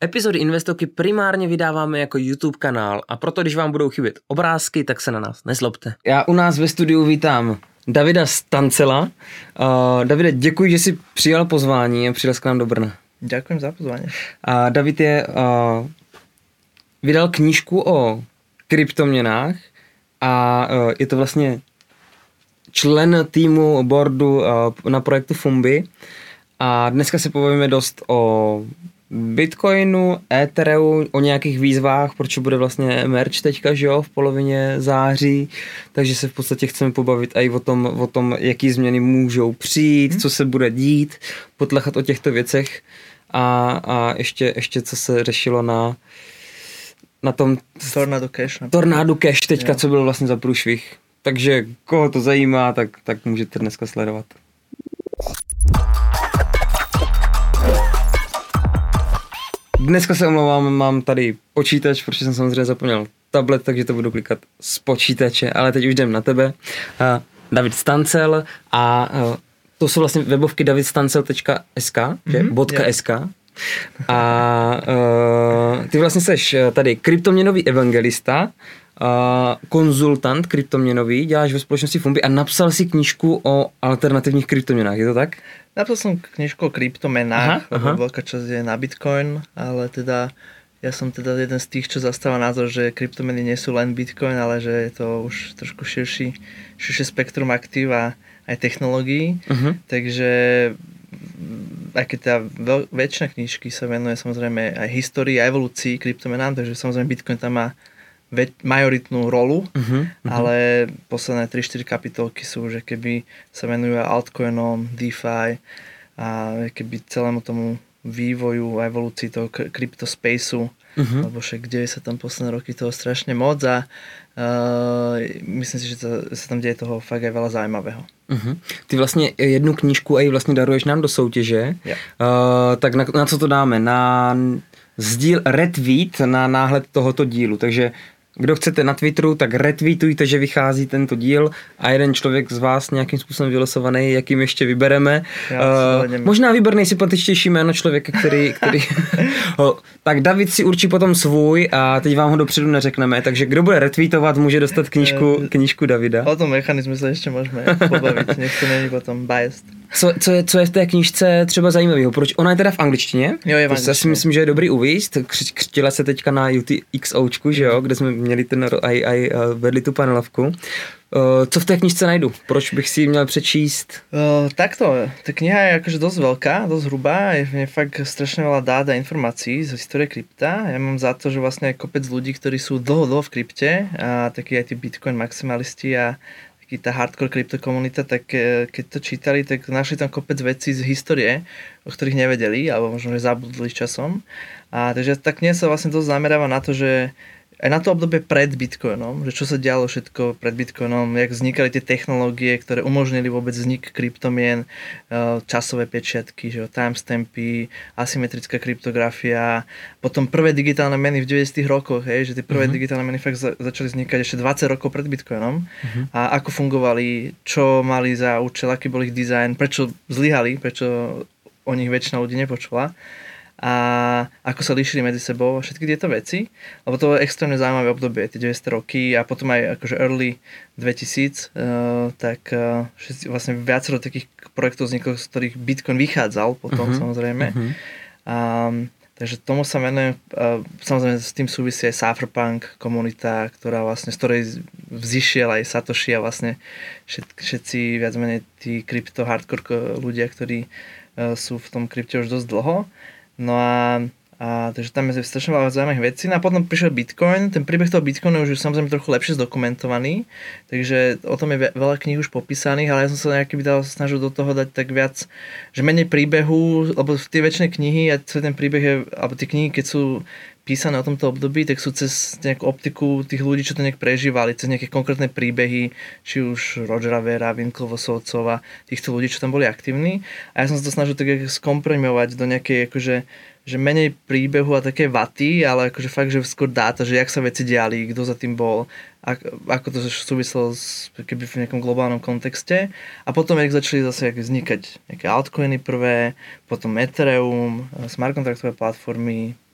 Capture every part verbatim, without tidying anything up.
Epizody Investoky primárně vydáváme jako YouTube kanál a proto, když vám budou chybět obrázky, tak se na nás nezlobte. Já u nás ve studiu vítám Davida Stancela. Uh, Davide, děkuji, že jsi přijal pozvání a přijel k nám do Brna. Ďakujem za pozvání. A David je, uh, vydal knížku o kryptoměnách a uh, je to vlastně člen týmu boardu uh, na projektu Fumbi. A dneska se povíme dost o Bitcoinu, Ethereu, o nějakých výzvách, proč bude vlastně merch teďka, že jo, v polovině září, takže se v podstatě chceme pobavit i o tom, o tom, jaký změny můžou přijít, hmm. co se bude dít, potlechat o těchto věcech a, a ještě, ještě co se řešilo na na tom Tornado Cash. Tornado Cash teďka, jo. Co byl vlastně za průšvih. Takže koho to zajímá, tak, tak můžete dneska sledovat. Dneska se omlouvám, mám tady počítač, protože jsem samozřejmě zapomněl tablet, takže to budu klikat z počítače, ale teď už jdem na tebe. Uh, David Stancel a uh, to jsou vlastně webovky david stancel tečka es ká, mm-hmm, je? .sk. A uh, ty vlastně seš tady kryptoměnový evangelista, uh, konzultant kryptoměnový, děláš ve společnosti Fumbi a napsal si knížku o alternativních kryptoměnách, je to tak? Napsal som knižku o kryptomenách, lebo veľká časť je na Bitcoin, ale teda ja som teda jeden z tých, čo zastáva názor, že kryptomeny nie sú len Bitcoin, ale že je to už trošku širší, širšie spektrum aktív a aj technológií. Uh-huh. Takže aj keď teda veľ, väčšina knižky sa venuje samozrejme aj histórii a evolúcii kryptomenám, takže samozrejme Bitcoin tam má majoritnú rolu, uh-huh, uh-huh. ale posledné tri štyri kapitolky sú, že keby sa venujú altcoinom, DeFi a keby celému tomu vývoju a evolúcii toho kryptospaceu, uh-huh. lebo však deje sa tam posledné roky toho strašne moc a uh, myslím si, že to, sa tam deje toho fakt aj veľa zaujímavého. Uh-huh. Ty vlastně jednu knížku aj vlastně daruješ nám do soutěže, yeah. uh, tak na, na co to dáme? Na sdíl, retweet na náhled tohoto dílu, takže kdo chcete na Twitteru, tak retweetujte, že vychází tento díl a jeden člověk z vás nějakým způsobem vylosovaný, jakým ještě vybereme. Uh, možná vyber nejsympatičtější jméno člověka, který... který tak David si určí potom svůj a teď vám ho dopředu neřekneme, takže kdo bude retweetovat, může dostat knížku, knížku Davida. O tom mechanizmu se ještě můžeme pobavit, nech to není potom biased. Co, co, je, co je v té knížce třeba zajímavého? Proč? Ona je teda v angličtině. Jo, je v angličtině. To si myslím, že je dobrý uvíct. Křtila se teďka na UTXOčku, že jo, kde jsme měli ten aj, aj vedli tu panelovku. Co v té knižce najdu? Proč bych si ji měl přečíst? Uh, takto, tá kniha je akože dosť veľká, dosť hrubá, je v nej fakt strašne veľa dát a informácií z histórie krypta. Ja mám za to, že vlastne kopec ľudí, ktorí sú dlho, dlho v krypte a takí aj tí Bitcoin maximalisti a taký tá hardcore kryptokomunita, tak keď to čítali, tak našli tam kopec vecí z histórie, o ktorých nevedeli, alebo možno, že zabudli časom. A takže tá kniha sa vlastne dosť zameráva na to, že aj na to obdobie pred Bitcoinom, že čo sa dialo všetko pred Bitcoinom, jak vznikali tie technológie, ktoré umožnili vôbec vznik kryptomien, časové pečiatky, že timestampy, asymetrická kryptografia, potom prvé digitálne meny v deväťdesiatych rokoch, hej, že tie prvé uh-huh. digitálne meny fakt za, začali vznikať ešte dvadsať rokov pred Bitcoinom uh-huh. a ako fungovali, čo mali za účel, aký bol ich dizajn, prečo zlyhali, prečo o nich väčšina ľudí nepočula. A ako sa líšili medzi sebou a všetky tieto veci, lebo to je extrémne zaujímavé obdobie, tie deväťdesiate roky a potom aj akože early dvetisíc, uh, tak uh, všetci, vlastne viacero takých projektov vzniklo, z ktorých Bitcoin vychádzal potom uh-huh. samozrejme. Uh-huh. Um, takže tomu sa venujem, uh, samozrejme s tým súvisí aj Cypherpunk komunita, ktorá vlastne, z ktorej vzýšiel aj Satoshi a vlastne všetci, všetci viac menej tí krypto hardcore ľudia, ktorí uh, sú v tom krypte už dosť dlho. No a, a takže tam je strašne veľa zaujímavých vecí. No a potom prišiel Bitcoin. Ten príbeh toho Bitcoinu už je samozrejme trochu lepšie zdokumentovaný, takže o tom je veľa kníh už popísaných, ale ja som sa nejaký by dal snažil do toho dať tak viac, že menej príbehu, lebo tie väčšie knihy a celý ten príbeh je, alebo tie knihy, keď sú písané o tomto období, tak sú cez nejakú optiku tých ľudí, čo to nejak prežívali, cez nejaké konkrétne príbehy, či už Rogera Vera, Winklevossovcov a týchto ľudí, čo tam boli aktívni. A ja som sa to snažil tak skomprimovať do nejakej akože, že menej príbehu a také vaty, ale akože fakt, že skôr dáta, že jak sa veci diali, kto za tým bol, ako to súviselo s, keby v nejakom globálnom kontexte. A potom, jak začali zase jak vznikať nejaké altcoiny prvé, potom Ethereum, smart kontraktové platformy,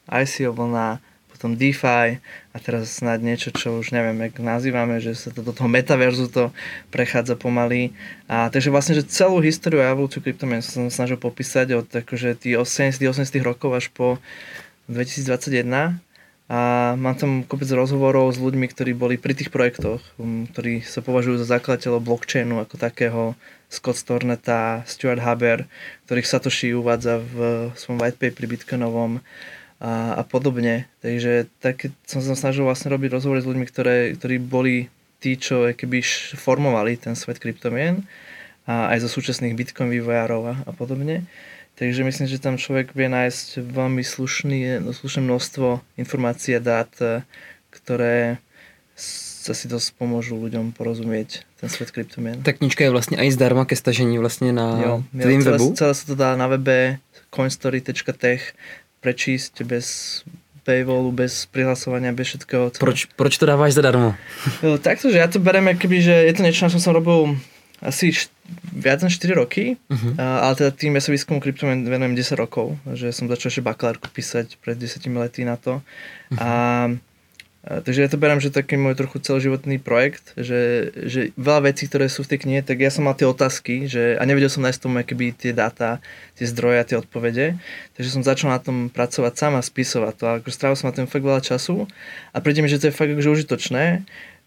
í cé ó vlna, potom DeFi a teraz snad niečo, čo už neviem, jak nazývame, že sa to do toho metaverzu to prechádza pomaly. A takže vlastne, že celú históriu a evolúciu kryptomien som sa snažil popísať od akože tých osemdesiatych, osemdesiatych rokov až po dvetisícdvadsaťjeden. A mám tam kopec rozhovorov s ľuďmi, ktorí boli pri tých projektoch, ktorí sa považujú za zakladateľov blockchainu ako takého, Scott Stornetta, Stuart Haber, ktorých Satoshi uvádza v svojom white paperi bitcoinovom a, a podobne. Takže tak som sa snažil vlastne robiť rozhovory s ľuďmi, ktoré, ktorí boli tí, čo keby formovali ten svet kryptomien a aj zo súčasných bitcoin vývojárov a, a podobne. Takže myslím, že tam človek vie nájsť veľmi slušný, slušné množstvo informácií a dát, ktoré sa si dosť pomôžu ľuďom porozumieť ten svet kryptomien. Ta knižka je vlastně i zdarma ke stažení vlastně na jo, tvým celé, webu? Celé sa to dá na webe coinstory tečka tech prečísť bez paywallu, bez prihlasovania, bez všetkého. Proč, proč to dáváš zadarmo? Takto, že ja to berem, akoby, že je to niečo, na čom som robil asi št- viac než štyri roky, uh-huh. ale teda tým ja sa výskumu kryptomien venujem desať rokov, že som začal ešte bakalárku písať pred desiatimi lety na to. Uh-huh. A takže ja to berám, že taký môj trochu celoživotný projekt, že, že veľa vecí, ktoré sú v tej knihe, tak ja som mal tie otázky, že, a nevedel som nájsť tomu akoby tie dáta, tie zdroje a tie odpovede, takže som začal na tom pracovať sám a spisovať to. A akože strávil som na tom fakt veľa času a príde mi, že to je fakt akože užitočné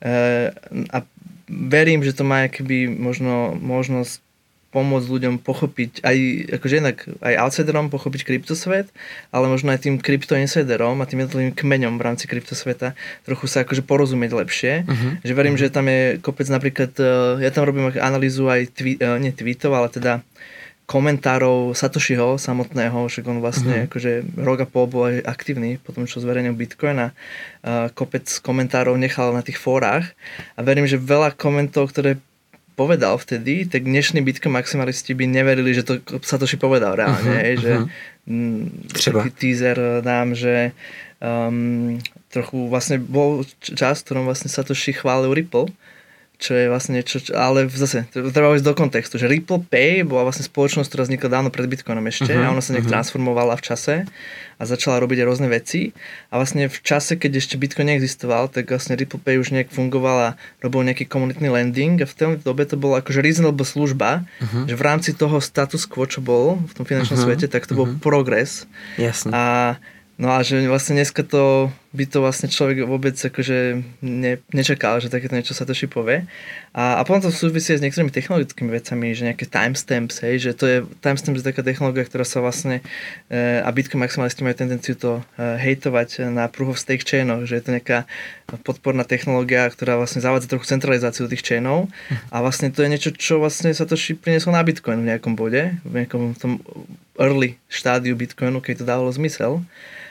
a verím, že to má akoby možno možnosť pomôcť ľuďom pochopiť aj, akože jednak aj outsiderom pochopiť kryptosvet, ale možno aj tým kryptoinsiderom a tým jednotlivým kmeňom v rámci kryptosveta trochu sa akože porozumieť lepšie. Uh-huh. Že verím, uh-huh. že tam je kopec napríklad, ja tam robím analýzu aj tví, nie tweetov, ale teda komentárov Satoshiho samotného, však on vlastne uh-huh. akože rok a pol bol aj aktívny po tom, čo zverejnil Bitcoin a uh, kopec komentárov nechal na tých fórach a verím, že veľa komentov, ktoré povedal vtedy, tak dnešní Bitcoin maximalisti by neverili, že to Satoshi povedal reálne, uh-huh, že uh-huh. taký teaser dám, že um, trochu vlastne bol čas, v ktorom vlastne Satoshi chválil Ripple, čo je vlastne niečo, ale zase, treba ísť do kontextu, že Ripple Pay bola vlastne spoločnosť, ktorá vznikla dávno pred Bitcoinom ešte uh-huh, a ona sa nejak uh-huh. transformovala v čase a začala robiť aj rôzne veci a vlastne v čase, keď ešte Bitcoin neexistoval, tak vlastne Ripple Pay už nejak fungoval a robil nejaký komunitný lending a v tej dobe to bola akože reasonable služba, uh-huh. že v rámci toho status quo, čo bol v tom finančnom uh-huh. svete, tak to uh-huh. bol progres. Jasne. A no a že vlastne dneska to by to vlastne človek vôbec akože ne, nečakal, že takéto niečo Satoshi povie. A, a potom to súvisí s niektorými technologickými vecami, že nejaké timestamps, hej, že to je timestamps je taká technológia, ktorá sa vlastne e, a Bitcoin maximalisti majú tendenciu to e, hejtovať na proof of stake chainoch, že je to nejaká podporná technológia, ktorá vlastne zavádza trochu centralizáciu tých chainov a vlastne to je niečo, čo vlastne Satoshi priniesol na Bitcoin v nejakom bode, v nejakom tom early štádiu Bitcoinu, keď to dávalo zmysel.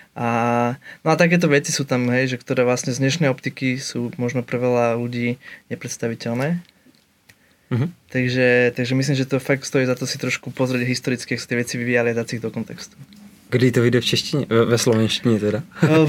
A, no a takéto veci sú tam, hej, že ktoré vlastne z dnešnej optiky sú možno pre veľa ľudí nepredstaviteľné. Uh-huh. Takže, takže myslím, že to fakt stojí za to si trošku pozrieť historicky, jak sa tie veci vyvíjali a dať si ich do kontextu. Kdy to vyjde v češtině? Ve, ve slovenštině teda?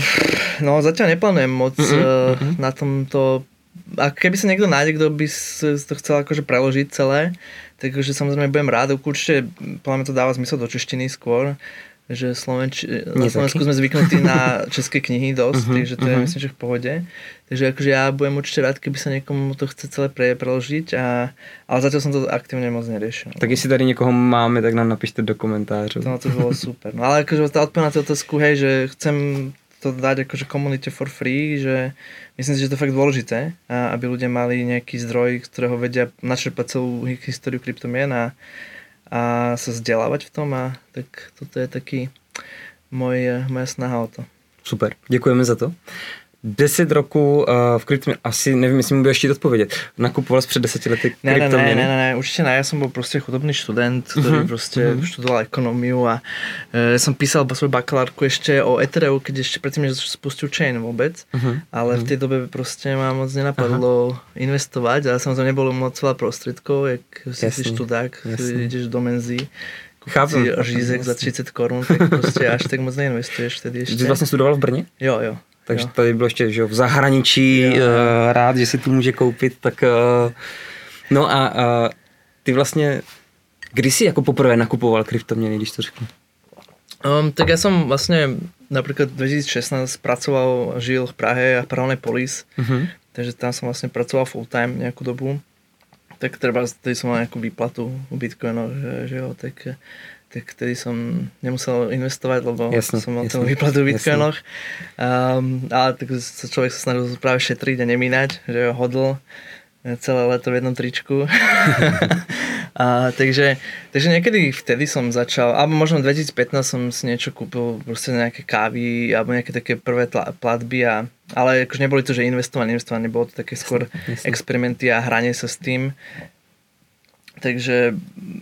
No zatiaľ neplánujem moc uh-huh, uh-huh. na tomto. A keby sa niekto nájde, kto by to chcel akože preložiť celé, takže samozrejme budem rád. Určite podľa mňa to dáva zmysel do češtiny skôr. Že Slovenč... na Slovensku sme zvyknutí na české knihy dosť, uh-huh, takže to je uh-huh. myslím, že v pohode. Takže akože ja budem určite rád, keby sa niekomu to chce celé pre, preložiť, a, ale zatiaľ som to aktívne moc neriešil. Tak jestli tady někoho máme, tak nám napište do komentářů. No to bolo super. No ale akože tá odpoveď na tú otázku, hej, že chcem to dať akože komunite for free, že myslím si, že to je fakt dôležité, aby ľudia mali nejaký zdroj, z ktorého vedia načerpať celú históriu kryptomien a a sa vzdelávať v tom a tak toto je taký môj, moja snaha o to. Super, děkujeme za to. Deset roků uh, v kryptoměně, asi nevím, jestli mi budeš chtít odpovědět. Nakupoval jsi před deseti lety kryptoměny? Ne, ne, ne, ne, určite ne, ja som bol proste chudobný študent, ktorý uh-huh, proste uh-huh. študoval ekonómiu a ja som písal svoju bakalárku ešte o Ethereu, keď ešte predtým, že spustil chain vôbec, uh-huh, ale uh-huh. v tej dobe proste ma moc nenapadlo uh-huh. investovať, ale samozrejme nebolo moc veľa prostriedkov, jak si si študák, ideš do Menzy, kúpiť si řízek za třicet korun, tak proste až tak moc neinvestuješ vtedy ešte. Ty vlastne studoval v Brně? Jo, jo. Takže jo. tady bylo ještě že v zahraničí, jo, jo. Uh, rád, že si tu může koupit, tak uh, no a uh, ty vlastně, kdy jsi jako poprvé nakupoval kryptoměny, když to řeknu? Um, tak ja som vlastne napríklad dvetisícšestnásť pracoval, žil v Prahe a v Prahovnej Polis, uh-huh. takže tam som vlastne pracoval full time nejakú dobu. Tak treba, tedy som mal nejakú výplatu u Bitcoinu, že, že jo, tak, tak tedy som nemusel investovať, lebo jasne, som mal tú výplatu v Bitcoinoch. Um, ale tak sa človek sa snažil práve šetriť a nemínať, že jo, hodl celé leto v jednom tričku. a, takže, takže niekedy vtedy som začal, alebo možno v dvetisícpätnásť som si niečo kúpil, proste nejaké kávy, alebo nejaké také prvé tla, platby, a, ale akože neboli to, že investovanie, investovanie, bolo to také skôr jasne, experimenty a hranie sa s tým. Takže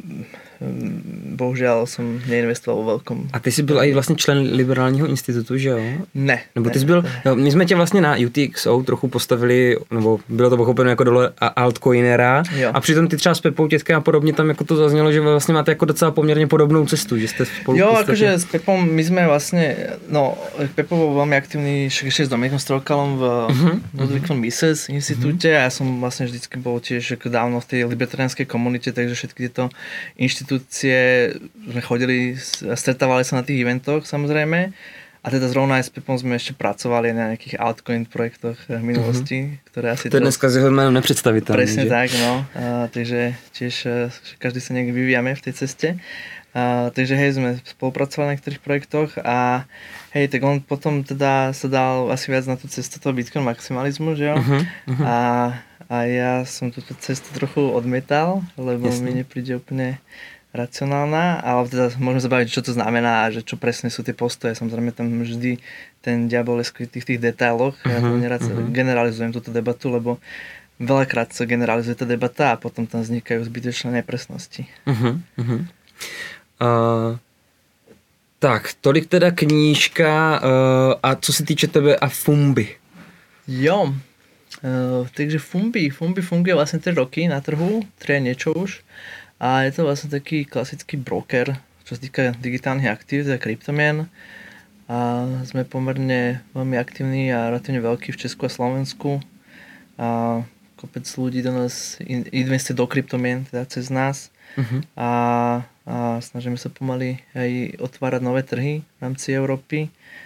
bohužiaľ som neinvestoval vo veľkom. A ty jsi byl i vlastně člen Liberálního institutu, že jo? Ne. Nebo ty jsi byl, jo, my jsme tě vlastně na U T X O trochu postavili, nebo bylo to pochopeno jako dole altcoinera, jo. A přitom ty třeba s Pepou Tětkem a podobně tam jako to zaznělo, že vlastně máte jako docela poměrně podobnou cestu, že jste spolu. Jo, akože s Pepom my sme vlastne, no Pepo bol veľmi aktívny ešte s Dominikom Strokalom v uh-huh, Ludwig von Mises institúte, uh-huh. a ja som vlastne vždycky bol tiež ako dávno v tej libertariánskej komunite, takže všetky tieto inštitúcie sme chodili a stretávali sa na tých eventoch samozrejme. A teda zrovna aj s Pepom sme ešte pracovali na nejakých altcoin projektoch v minulosti, uh-huh. ktoré asi... To je dneska z jeho jménem nepredstaviteľné. Presne že? tak, no. A, takže tiež každý sa niekde vyvíjame v tej ceste. A, takže hej, sme spolupracovali na niektorých projektoch a hej, tak on potom teda sa dal asi viac na tú cestu toho Bitcoin maximalizmu, že jo? Uh-huh, uh-huh. A, a ja som túto cestu trochu odmietal, lebo Jasne. mi nepríde úplne racionálna, ale teda môžeme sa baviť, čo to znamená a že čo presne sú tie postoje. Samozrejme tam vždy ten diabol je skrytý v tých detailoch. Uh-huh, ja to nerad uh-huh. generalizujem túto debatu, lebo veľakrát sa generalizuje tá debata a potom tam vznikajú zbytočné nepresnosti. Uh-huh, uh-huh. Uh, tak, tolik teda knížka uh, a co se týče tebe a Fumbi. Jo, uh, takže Fumbi, Fumbi funguje vlastne tri roky na trhu, tri niečo už. A je to vlastne taký klasický broker, čo sa týka digitálnych aktív, teda kryptomien. A sme pomerne veľmi aktívni a relatívne veľkí v Česku a Slovensku. A kopec ľudí do nás investuje do kryptomien, teda cez nás. Uh-huh. A, a snažíme sa pomaly aj otvárať nové trhy v rámci Európy.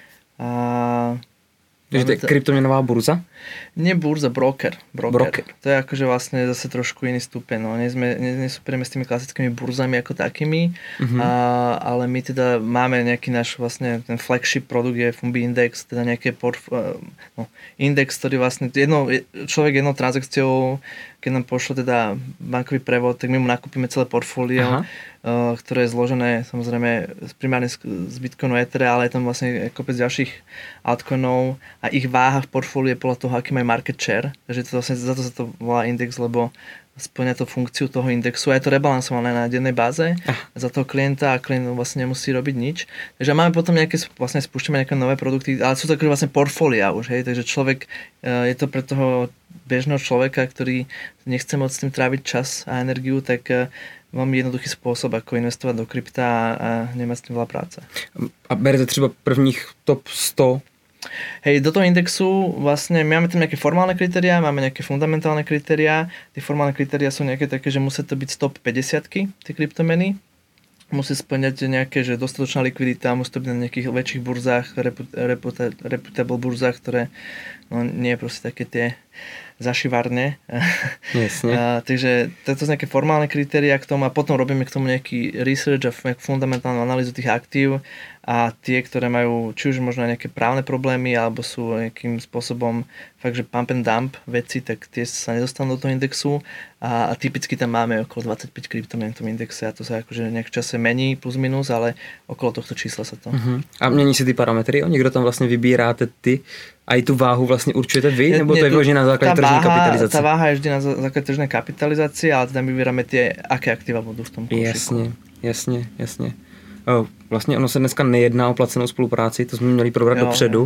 A Takže to je kryptomenová burza? Nie burza, broker. broker. broker. To je akože vlastne zase trošku iný stupeň. No. Nesúperíme s tými klasickými burzami ako takými, uh-huh. a, ale my teda máme nejaký náš vlastne ten flagship produkt je Fumbi Index, teda nejaký porf, no, index, ktorý vlastne jedno, človek jednou transakciou, keď nám pošlo teda bankový prevod, tak my mu nakúpime celé portfólio, uh, ktoré je zložené samozrejme primárne z, z Bitcoinu Ether, ale je tam vlastne kopec ďalších altcoinov a ich váha v portfóliu je podľa toho, aký majú market share. Takže to vlastne, za to sa to volá index, lebo spĺňa to funkciu toho indexu a je to rebalansované na dennej báze ah. za toho klienta a klient vlastne nemusí robiť nič. Takže máme potom nejaké, vlastne spúšťame nejaké nové produkty, ale sú to vlastne portfólia už, hej, takže človek, je to pre toho bežného človeka, ktorý nechce moc s tým tráviť čas a energiu, tak veľmi jednoduchý spôsob, ako investovať do krypta a nemať s tým veľa práce. A berete třeba prvních top sto? Hej, do toho indexu vlastne máme tam nejaké formálne kritériá, máme nejaké fundamentálne kritériá. Tie formálne kritériá sú nejaké také, že musí to byť z top päťdesiatky, tie kryptomeny. Musí splňať nejaké, že dostatočná likvidita, musí to byť na nejakých väčších burzách, reputa, reputable burzách, ktoré no, nie je proste také tie zašivárne. Jasne. A, takže toto sú nejaké formálne kritériá k tomu a potom robíme k tomu nejaký research a fundamentálnu analýzu tých aktív a tie, ktoré majú či už možno nejaké právne problémy alebo sú nejakým spôsobom fakt, že pump and dump veci, tak tie sa nedostanú do toho indexu a, a typicky tam máme okolo dvadsaťpäť kryptomien v tom indexe a to sa akože nejak v čase mení plus minus, ale okolo tohto čísla sa to. Uh-huh. A mění se ty parametry? Někdo tam vlastně vybíráte ty a i tu váhu vlastně určujete vy? Ne, nebo ne, to je vyložené na základě tržní kapitalizace? Tá váha je vždy na základě tržnej kapitalizácie, ale teda my vybíráme tie, aké aktíva budú v tom koušiku. Jasně, jasně, jasně. O, vlastně ono se dneska nejedná o placenou spolupráci, to jsme měli probrat jo, dopředu,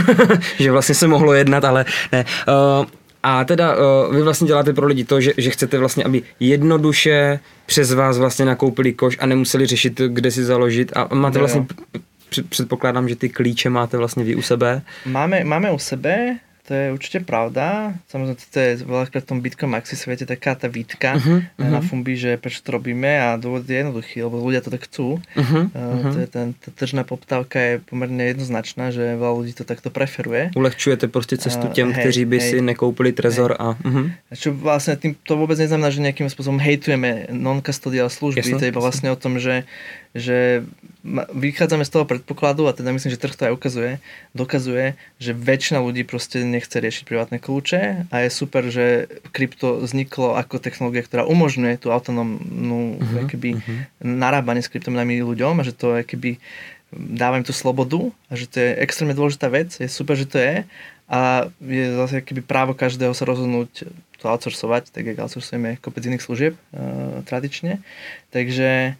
že vlastně se mohlo jednat, ale ne. O, a teda o, vy vlastně děláte pro lidi to, že, že chcete vlastně, aby jednoduše přes vás vlastně nakoupili koš a nemuseli řešit, kde si založit a máte vlastně, předpokládám, že ty klíče máte vlastně vy u sebe. Máme, máme u sebe, to je určite pravda. Samozrejme, to je veľakrát v tom Bitcoin Maxi svete taká tá výtka uh-huh, na uh-huh. Fumbi, že prečo to robíme a dôvod je jednoduchý, lebo ľudia to tak chcú. Uh-huh, uh, to je ten, tá tržná poptávka je pomerne jednoznačná, že veľa ľudí to takto preferuje. Ulehčujete prostě cestu těm, uh, hej, kteří by hej, si nekoupili Trezor hej. a... Uh-huh. Čo vlastne tým to vôbec neznamená, že nejakým spôsobom hejtujeme non-custodial služby. Jasne, to je iba vlastne o tom, že, že vychádzame z toho predpokladu a teda myslím, že trh to aj ukazuje, dokazuje, že väčšina ľudí proste nechce riešiť privátne kľúče a je super, že krypto vzniklo ako technológia, ktorá umožňuje tú autonómnu uh-huh, keby, uh-huh. narábanie s kryptomenami ľuďom a že to keby dáva im tú slobodu a že to je extrémne dôležitá vec, je super, že to je a je zase keby právo každého sa rozhodnúť to outsourcovať, tak jak outsourcujeme kopec iných služieb uh, tradične. Takže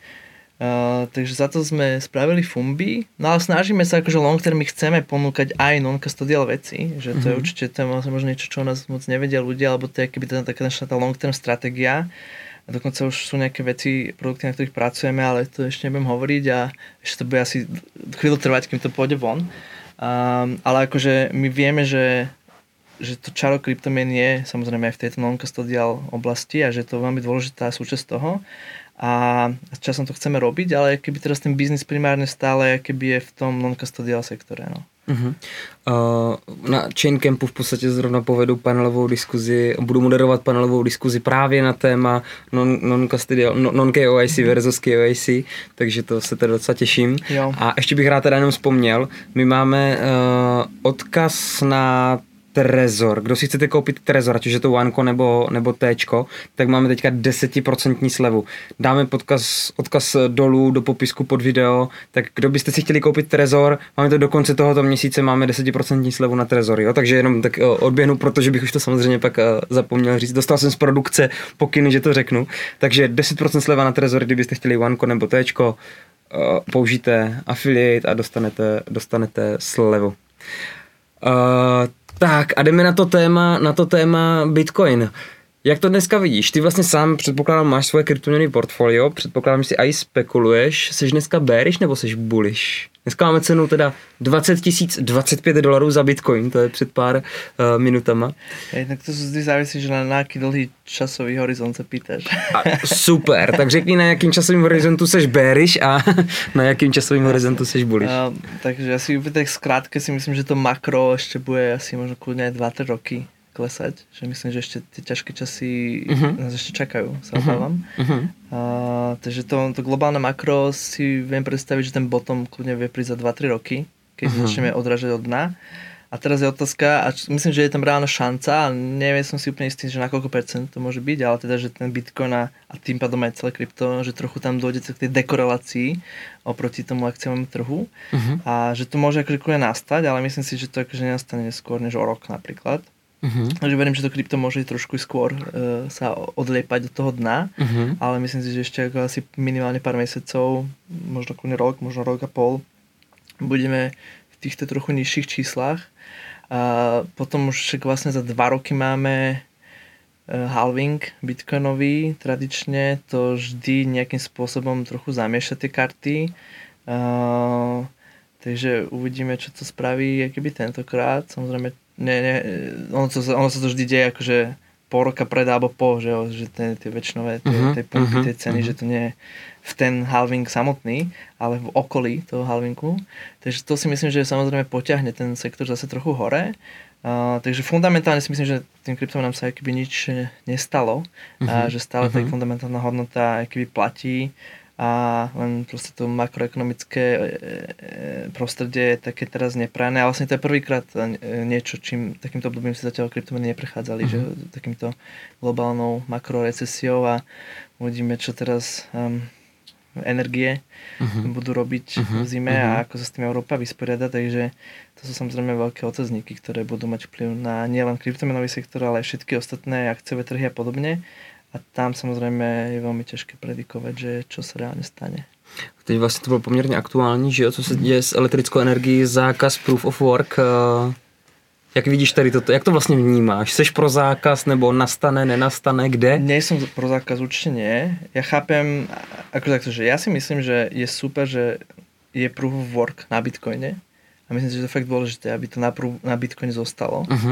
Uh, takže za to sme spravili Fumbi, no ale snažíme sa akože long term, my chceme ponúkať aj non-custodial veci, že to mm-hmm. je určite to je možno niečo, čo o nás moc nevedia ľudia, alebo to je keby tá taká naša tá long term stratégia. A dokonca už sú nejaké veci, produkty, na ktorých pracujeme, ale to ešte nebudem hovoriť a ešte to bude asi chvíľu trvať, kým to pôjde von. Um, ale akože my vieme, že že to čaro kryptomien je samozrejme aj v tejto non-custodial oblasti a že to je veľmi dôležitá súčasť toho. A časom to chceme robiť, ale keby teraz ten biznis primárne stále keby je v tom non-custodial sektore. No. Uh-huh. Uh, na Chaincampu v podstatě zrovna povedu panelovou diskuzi, budu moderovat panelovou diskuzi právě na téma non, non-custodial, non-K O I C versus K O I C, takže to se teda docela těším. Jo. A ještě bych rád teda jenom vzpomněl, my máme uh, odkaz na Trezor. Kdo si chcete koupit Trezor, ať už je to Oneco nebo, nebo Téčko, tak máme teďka deset procent slevu. Dáme podkaz, odkaz dolů do popisku pod video, tak kdo byste si chtěli koupit Trezor, máme to do konce tohoto měsíce, máme deset procent slevu na Trezor, jo? Takže jenom tak odběhnu, protože bych už to samozřejmě pak zapomněl říct. Dostal jsem z produkce pokyny, že to řeknu. Takže deset procent sleva na Trezor, kdybyste chtěli Oneco nebo Téčko, použijte affiliate a dostanete, dostanete slevu. Uh, Tak a jdeme na to téma, na to téma Bitcoin. Jak to dneska vidíš? Ty vlastně sám předpokládám, máš svoje kryptoměny portfolio, předpokládám, že si aj spekuluješ. Seš dneska bearish nebo seš bullish? Dneska máme cenu teda dvacet tisíc dvacet pět dolarů za Bitcoin, to je před pár uh, minutama. Hej, tak to vždy závisí, že na, na aký dlhý časový horizont se pýtaš. A, super, tak řekni, na jakým časovým horizontu seš bearish a na jakým časovým horizontu seš bullish. Uh, takže asi tak skrátke si myslím, že to makro ještě bude asi možno kľudne aj dva tri roky klesať, že myslím, že ešte tie ťažké časy uh-huh. nás ešte čakajú, sa obávam. Uh-huh. Uh, takže to, to globálne makro si viem predstaviť, že ten bottom kľudne vie prísť za dva tri roky, keď uh-huh. začneme odrážať od dna. A teraz je otázka, a myslím, že je tam reálna šanca, a neviem som si úplne istý, že na koľko percent to môže byť, ale teda, že ten Bitcoin a, a tým pádom aj celé krypto, že trochu tam dôjde k tej dekorelácii oproti tomu akciovému trhu. Uh-huh. A že to môže akože kľudne nastať, ale myslím si, že to akože nenastane skôr než o rok napríklad. Uh-huh. Takže verím, že to krypto môže trošku skôr uh, sa odliepať do toho dna, uh-huh. ale myslím si, že ešte ako asi minimálne pár mesiacov, možno kľudne rok, možno rok a pol, budeme v týchto trochu nižších číslach. A potom už vlastne za dva roky máme uh, halving bitcoinový, tradične to vždy nejakým spôsobom trochu zamieša tie karty. Uh, takže uvidíme, čo to spraví keby tentokrát. Samozrejme Ne, ne, ono, to, ono sa to vždy deje akože pol roka pred alebo po, že, že tie, tie väčšinové tie, uh-huh, tie pumpy, uh-huh, tie ceny, uh-huh. že to nie je v ten halving samotný, ale v okolí toho halvingu. Takže to si myslím, že samozrejme potiahne ten sektor zase trochu hore. Uh, takže fundamentálne si myslím, že tým kryptomenám sa akoby nič nestalo, uh-huh, a že stále uh-huh. tá fundamentálna hodnota akoby platí. A len proste to makroekonomické prostredie je také teraz neprajné. A vlastne to je prvýkrát niečo, čím takýmto obdobím si zatiaľ kryptomeny neprechádzali, uh-huh. že takýmto globálnou makrorecesiou a uvidíme, čo teraz um, energie uh-huh. budú robiť uh-huh. v zime uh-huh. a ako sa s tým Európa vysporiada. Takže to sú samozrejme veľké otázniky, ktoré budú mať vplyv na nielen kryptomenový sektor, ale aj všetky ostatné akciové trhy a podobne. A tam samozřejmě je velmi těžké predikovať, že čo se reálně stane. Teď vlastně to bylo poměrně aktuální, že jo, co se děje s elektrickou energií, zákaz proof of work. Jak vidíš tady toto, jak to vlastně vnímáš? Seš pro zákaz, nebo nastane, nenastane, kde? Nejsem pro zákaz, určitě nie. Já chápem, ako takto, že já si myslím, že je super, že je proof of work na Bitcoine. A myslím si, že to je fakt dôležité, aby to na, proof, na Bitcoine zostalo. Uh-huh.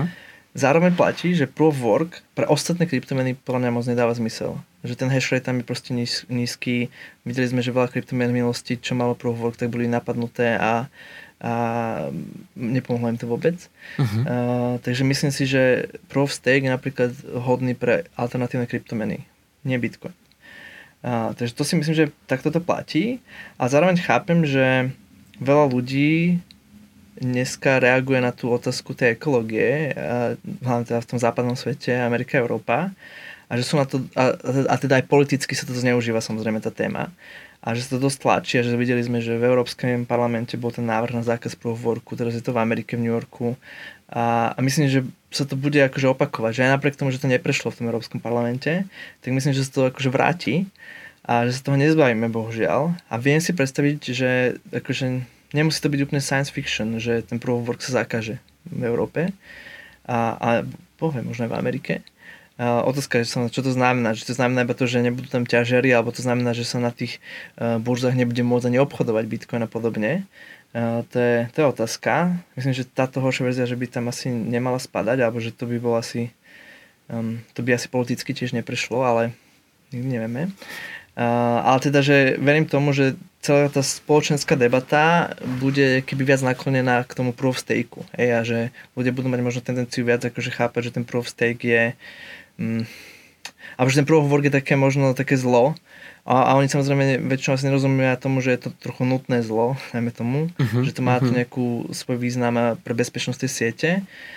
zároveň platí, že Proof of Work pre ostatné kryptomeny podľa mňa moc nedáva zmysel. Že ten hash rate tam je proste níz, nízky. Videli sme, že veľa kryptomien v minulosti, čo malo Proof of Work, tak boli napadnuté a, a nepomohlo im to vôbec. Uh-huh. Uh, takže myslím si, že Proof of Stake je napríklad hodný pre alternatívne kryptomeny, nie Bitcoin. Uh, takže to si myslím, že takto to platí. A zároveň chápem, že veľa ľudí dneska reaguje na tú otázku tej ekológie, hlavne teda v tom západnom svete, Amerika, Európa, a že sú na to, a, a teda aj politicky sa to zneužíva samozrejme tá téma, a že sa to dosť tlačí, a že videli sme, že v Európskom parlamente bol ten návrh na zákaz Proof of Worku, teraz je to v Amerike, v New Yorku, a, a myslím, že sa to bude akože opakovať, že aj napriek tomu, že to neprešlo v tom Európskom parlamente, tak myslím, že sa to akože vráti a že sa toho nezbavíme, bohužiaľ, a viem si predstaviť, že akože nemusí to byť úplne science fiction, že ten Proof of Work sa zakáže v Európe a, a poviem, možno aj v Amerike. A otázka je, čo to znamená. Že to znamená iba to, že nebudú tam ťažiari, alebo to znamená, že sa na tých uh, burzách nebude môcť ani obchodovať Bitcoin a podobne. Uh, to, je, to je otázka. Myslím, že táto horšia verzia, že by tam asi nemala spadať, alebo že to by bolo asi um, to by asi politicky tiež neprešlo, ale nikdy nevieme. Uh, ale teda, že verím tomu, že celá tá spoločenská debata bude keby viac naklonená k tomu proof of stake. Hej, a že ľudia budú mať možno tendenciu viac akože chápať, že ten proof of stake je mm, a že ten proof of work je také možno také zlo. A, a oni samozrejme väčšinou asi nerozumia tomu, že je to trochu nutné zlo, najmä tomu, uh-huh, že to má uh-huh. tu nejakú svoj význam pre bezpečnosť tej siete.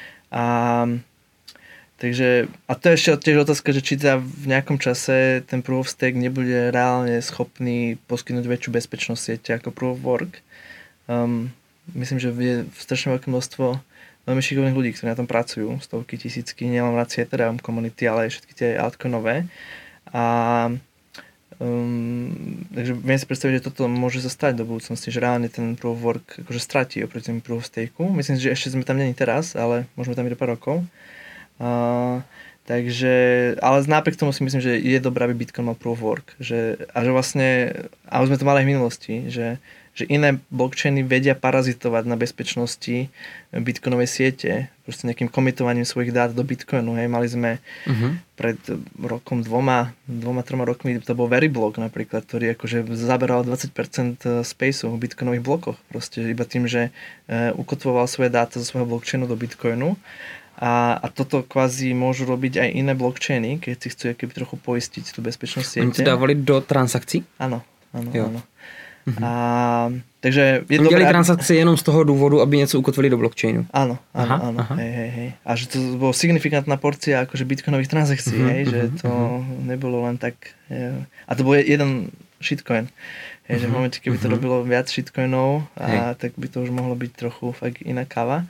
A takže, a to je ešte tiež otázka, že či teda v nejakom čase ten Proof of Stake nebude reálne schopný poskytnúť väčšiu bezpečnosť siete ako Proof of Work. Um, myslím, že je strašne veľké množstvo veľmi šikovných ľudí, ktorí na tom pracujú, stovky, tisícky, nielen v rámci Ethereum komunity, ale aj všetky tie altcoinové. A um, takže viem si predstaviť, že toto môže sa stať do budúcnosti, že reálne ten Proof of Work akože stratí oproti tomu Proof of Stake. Myslím si, že ešte sme tam není teraz, ale môžeme tam byť do pár rokov. Uh, takže, ale napriek tomu si myslím, že je dobré, aby Bitcoin mal Proof of Work, že, a že vlastne, a už sme to mali aj v minulosti, že, že iné blockchainy vedia parazitovať na bezpečnosti bitcoinovej siete, proste nejakým komitovaním svojich dát do Bitcoinu, hej, mali sme uh-huh. pred rokom dvoma, dvoma, troma rokmi, to bol Veriblock napríklad, ktorý akože zaberal dvadsať percent spaceu v bitcoinových blokoch, proste iba tým, že uh, ukotvoval svoje dáta zo svojho blockchainu do Bitcoinu. A, a toto kvázi môžu robiť aj iné blockchainy, keď si chcú keby trochu poistiť tú bezpečnosť siete. Oni to dávali do transakcí? Áno, áno, jo. áno. Mhm. A, takže je Oni dobré, dělají transakce jenom z toho důvodu, aby něco ukotvili do blockchainu. Áno, áno, aha, áno. Aha. Hej, hej, hej. A že to bolo signifikantná porcia akože bitcoinových transakcií, uh-huh, hej, uh-huh, že to uh-huh. nebolo len tak. Je, a to bol jeden shitcoin. Hej, uh-huh, že v momente, keby uh-huh. to robilo viac shitcoinov, a tak by to už mohlo byť trochu fakt iná káva.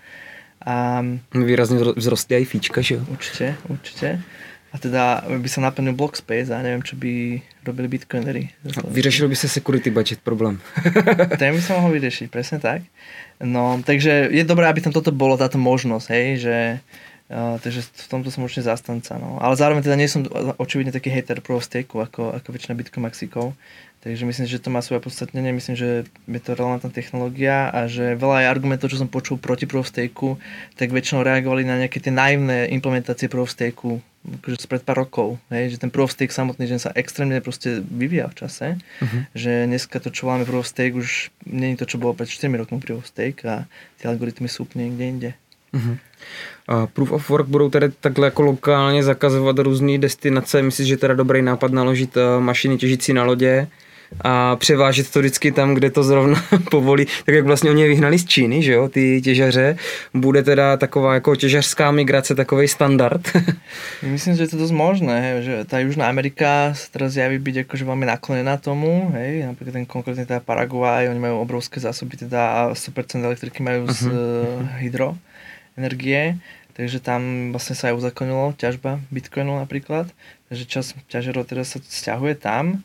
A výrazne vzrostli aj fíčka, že jo? Určite, určite. A teda by sa naplnil block space a neviem, čo by robili bitcoinery. Vyřešil by sa security budget problém. Ten by sa mohol vyriešiť, presne tak. No, takže je dobré, aby tam toto bolo, táto možnosť, hej, že uh, takže v tomto som určite zastanca, no. Ale zároveň teda nie som očividne taký hater proof of stake, ako, ako väčšina bitcoin maxikov. Takže myslím, že to má svoje podstatnenie, myslím, že je to relevantná technológia a že veľa aj argumentov, čo som počul proti Proof of Stake, tak väčšinou reagovali na nejaké tie naivné implementácie Proof of Stake, akože spred pár rokov, hej, že ten Proof of Stake samotný, že sa extrémne proste vyvíja v čase, uh-huh. že dneska to, čo voláme Proof of Stake, už nie je to, čo bolo pred štyrmi rokmi Proof of Stake a tie algoritmy sú úplne niekde inde. Uh-huh. Uh, Proof of Work budou tedy takhle jako lokálně zakazovat různé destinace, myslíš, že teda dobrý nápad naložit uh, mašiny těžící na lodě a převážet to vždycky tam, kde to zrovna povolí, tak jak vlastně oni je vyhnali z Číny, že jo, ty těžaře, bude teda taková jako těžařská migrace, takovej standard. Myslím, že je to dosť možné, hej, že tá Južná Amerika sa teraz javí byť akože veľmi naklonená tomu, hej, napríklad ten konkrétne teda Paraguay, oni majú obrovské zásoby teda a sto percent elektriky majú z uh-huh. hydroenergie, takže tam vlastne sa aj uzakonilo ťažba Bitcoinu napríklad, takže čas ťažerov teraz sa sťahuje tam.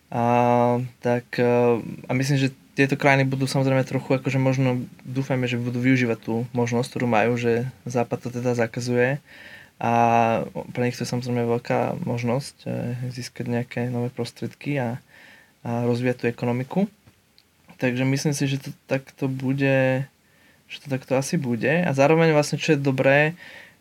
A, tak, a myslím, že tieto krajiny budú samozrejme trochu, akože možno dúfajme, že budú využívať tú možnosť, ktorú majú, že Západ to teda zakazuje a pre nich to je samozrejme veľká možnosť získať nejaké nové prostriedky a, a rozvíjať tú ekonomiku. Takže myslím si, že to takto bude, že to takto asi bude a zároveň vlastne čo je dobré,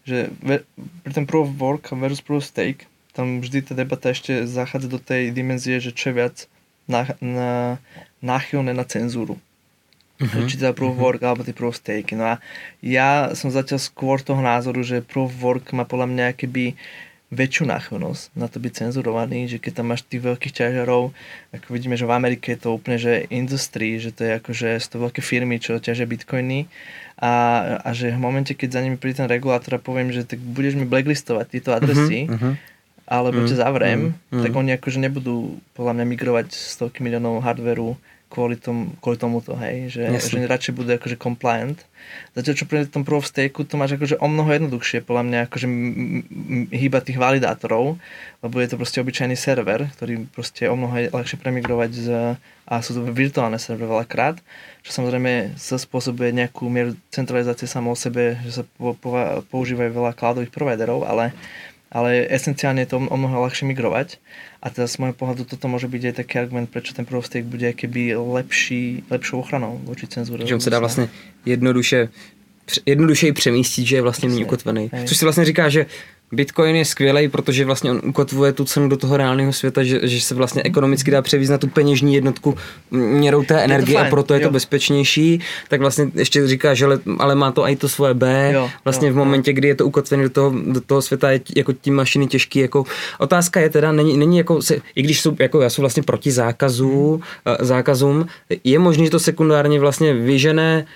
že ve, pri tom proof of work versus proof of stake, tam vždy tá debata ešte zachádza do tej dimenzie, že čo je viac na, na, náchylné na cenzúru. Uh-huh. Či teda proof of work alebo tie proof of stake. No a ja som zatiaľ skôr toho názoru, že proof of work má podľa mňa keby väčšiu náchylnosť na to byť cenzurovaný, že keď tam máš tých veľkých ťažarov, ako vidíme, že v Amerike je to úplne, že industry, že to je akože z to veľké firmy, čo ťažia bitcoiny a, a že v momente, keď za nimi príde ten regulátor a poviem, že tak budeš mi blacklistovať tieto adresy, uh-huh, uh-huh. alebo uh-huh, ťa zavriem, uh-huh. tak oni akože nebudú podľa mňa migrovať stovky miliónov hardveru kvôli, tom, kvôli tomuto, hej, že, že radšej bude akože compliant. Zatiaľ, čo pri tom proof of stake, to máš akože o mnoho jednoduchšie, podľa mňa, akože hýbať tých validátorov, lebo je to proste obyčajný server, ktorý proste o mnoho ľahšie premigrovať z, a sú to virtuálne servery veľakrát, čo samozrejme sa spôsobuje nejakú mieru centralizácie samo o sebe, že sa po, po, používajú veľa cloudových providerov, ale ale esenciálne je to o mnoho ľahšie migrovať. A teda z môjho pohľadu toto môže byť aj taký argument, prečo ten proof of stake bude keby lepší, lepšou ochranou voči cenzúre. Že on se dá vlastně jednoduše, jednodušeji přemístit, že je vlastně méně ukotvený. Což si vlastně říká, že Bitcoin je skvělej, protože vlastně on ukotvuje tu cenu do toho reálného světa, že, že se vlastně ekonomicky dá převízt na tu peněžní jednotku měrou té energie a proto je to jo. bezpečnější. Tak vlastně ještě říká, že ale má to i to svoje B. Jo, vlastně jo, v momentě, jo. kdy je to ukotvené do toho, do toho světa, je jako tí mašiny těžký. Jako otázka je teda, není, není jako, se, i když jsou, jako já jsou vlastně proti zákazu, hmm. zákazům, je možné, že to sekundárně vlastně vyžené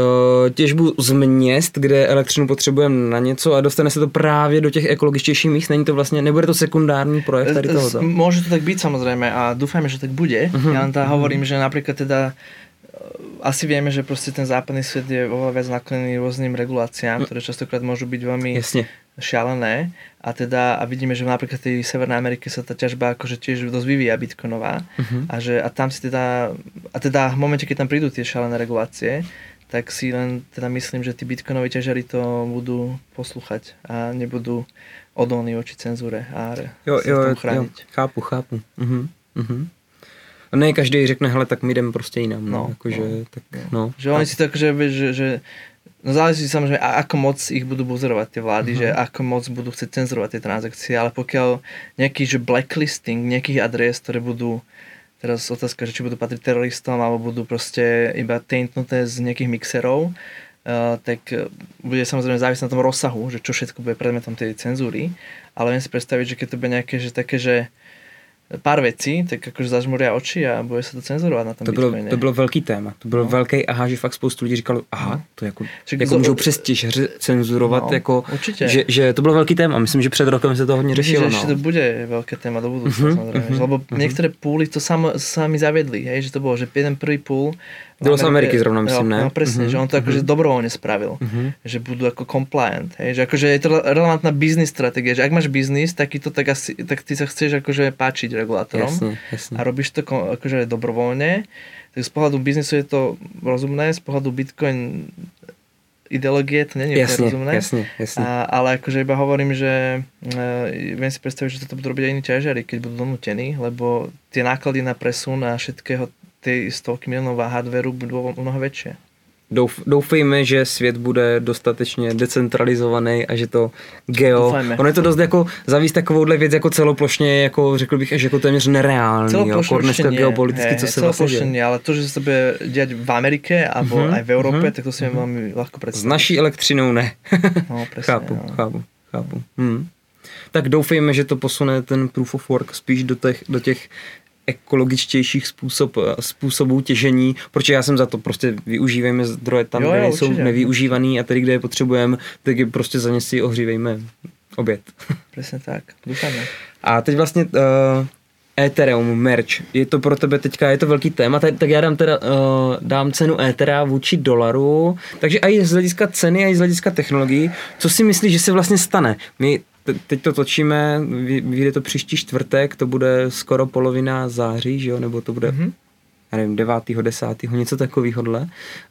těžbu z měst, kde elektřinu potřebujeme na něco a dostane se to právě do těch ekologičtějších míst. Není to vlastně, nebude to sekundární projekt tady tohoto? Môže to tak byť samozrejme a dúfajme, že tak bude. Uh-huh. Ja len tá hovorím, že napríklad teda asi vieme, že proste ten západný svet je oveľa viac naklonený rôznym reguláciám, ktoré častokrát môžu byť veľmi Jasne. šialené a teda a vidíme, že napríklad v tej Severnej Amerike sa tá ťažba akože tiež dosť vyvíja bitcoinová uh-huh. a že a tam si teda a teda v momente, keď tam prídu tie šialené regulácie, tak si len teda myslím, že tí bitcoinoví ťažari to budú poslúchať a nebudú odolní voči cenzúre a jo, sa jo, v tom chrániť. Jo, chápu, chápu. Uh-huh, uh-huh. A ne každý řekne, hele, tak my jdeme prostě jinam. No, no, akože, no, tak, no. Že oni si to akože, že, že no záleží samozrejme, ako moc ich budú buzerovať tie vlády, uh-huh. že ako moc budú chcieť cenzurovať tie transakcie, ale pokiaľ nejaký, že blacklisting nejakých adres, ktoré budú teraz otázka, že či budú patriť teroristom alebo budú proste iba taintnuté z nejakých mixerov, uh, tak bude samozrejme závisieť na tom rozsahu, že čo všetko bude predmetom tej cenzúry, ale viem si predstaviť, že keď to bude nejaké, že také, že pár vecí, tak akože zažmuria oči a bude sa to cenzurovať na tom to bylo, Bitcoine. To bylo velký téma. To bylo no. velký aha, že fakt spoustu lidí říkalo, aha, to jako, Ček, jako můžou přes těžře cenzurovat, no, jako, že, že to bylo velký téma. Myslím, že před rokem se to hodně řešilo. Myslím, že no. to bude veľké téma do budúcna, uh-huh, samozrejme. Uh-huh, lebo uh-huh. niektoré púly to sam, sami zaviedli, hej, že to bolo, že jeden prvý púl bylo z Ameriky zrovna, myslím, no, ne? No presne, uh-huh, že on to akože uh-huh. dobrovoľne spravil, uh-huh. že budú ako compliant, hej, že akože je to relevantná business stratégia, že ak máš biznis, tak, to, tak, asi, tak ty sa chceš akože páčiť regulátorom jasne, jasne. A robíš to akože dobrovoľne, tak z pohľadu biznisu je to rozumné, z pohľadu Bitcoin ideológie to nie je jasne, rozumné, jasne, jasne. A, ale akože iba hovorím, že e, viem si predstaviť, že toto budú robiť aj iní ťažiari, keď budú donútení, lebo tie náklady na presun a všetkého tej stovky miliónov hardwareu budú mnoho väčšie. Douf, doufejme, že svět bude dostatečně decentralizovaný a že to geo... Doufajme. Ono je to dost jako zavíst takovouhle věc jako celoplošně, jako řekl bych, až jako téměř nereálný. Celoplošně jako dneska geopoliticky, co se vlastně děje. Ale to, že se to bude dělat v Amerike alebo uh-huh, aj v Európe, uh-huh, tak to si uh-huh. velmi ľahko představit. S naší elektřinou ne. No, presne, chápu, no. chápu, chápu. Hmm. Tak doufejme, že to posune ten proof of work spíš do těch, do těch ekologičtějších způsob, způsobů těžení, protože já jsem za to prostě využívejme zdroje tam, jo, kde jo, jsou určitě. Nevyužívaný a tady, kde je potřebujeme, tak je prostě za ně si ohřívejme oběd. Přesně tak, doufáme. A teď vlastně uh, Ethereum, merch, je to pro tebe teďka, je to velký téma, tak, tak já dám teda, uh, dám cenu Ethera vůči dolaru, takže i z hlediska ceny, i z hlediska technologií, co si myslíš, že se vlastně stane? My teď to točíme, vyjde to příští čtvrtek, to bude skoro polovina září, že jo, nebo to bude, mm-hmm. já nevím, devátého, desátého, něco takovýhodle. Uh,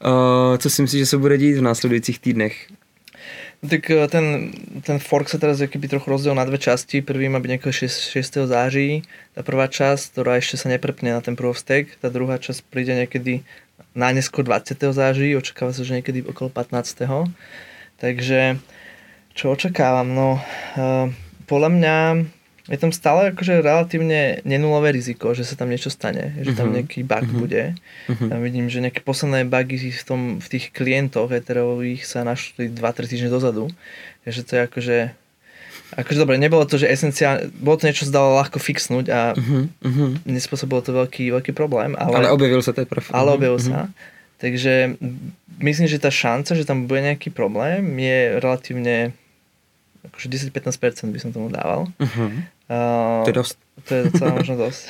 co si myslíš, že se bude dít v následujících týdnech? No tak ten, ten fork sa teraz jakýby trochu rozdiel na dve časti. Prvý má byť nejakého šiesteho září, tá prvá časť, ktorá ešte sa neprepne na ten proof of stake, tá druhá časť príde niekedy najneskôr dvadsiateho září, očakáva sa, že niekedy okolo pätnásteho Takže Čo očakávam? No, uh, podľa mňa je tam stále akože relatívne nenulové riziko, že sa tam niečo stane, že tam nejaký bug uh-huh. bude. Uh-huh. Tam vidím, že nejaké posledné bugy v, tom, v tých klientoch Ethereových sa našli dva tri týždne dozadu. Takže to je akože... Akože dobre, nebolo to, že esenciálne... Bolo to niečo, čo sa dalo ľahko fixnúť a uh-huh. Uh-huh. nespôsobilo to veľký, veľký problém. Ale, ale objavil sa teprve. Ale objavil uh-huh. sa. Takže myslím, že tá šanca, že tam bude nejaký problém, je relatívne... Akože desať až pätnásť percent by som tomu dával. Uh-huh. Uh, to je dosť. To je docela možno dosť.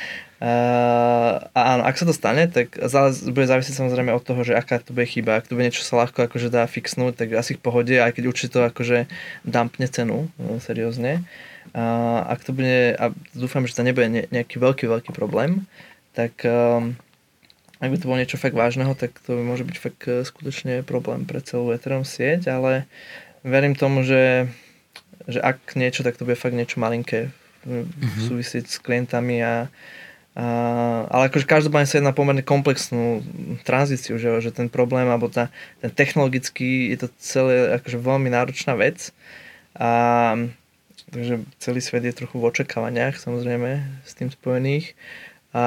Uh, a áno, ak sa to stane, tak bude závisieť samozrejme od toho, že aká to bude chyba. Ak to bude niečo sa ľahko akože dá fixnúť, tak asi v pohode, aj keď určite to akože dumpne cenu, no, seriózne. Uh, ak to bude, a dúfam, že to nebude ne, nejaký veľký, veľký problém, tak um, ak by to bolo niečo fakt vážneho, tak to môže byť fakt skutočne problém pre celú Ethereum sieť, ale verím tomu, že že ak niečo, tak to bude fakt niečo malinké mm-hmm. súvisieť s klientami a, a ale akože každopádne sa jedná pomerne komplexnú tranzíciu, že, že ten problém alebo tá, ten technologický je to celé akože veľmi náročná vec a takže celý svet je trochu v očakávaniach samozrejme s tým spojených a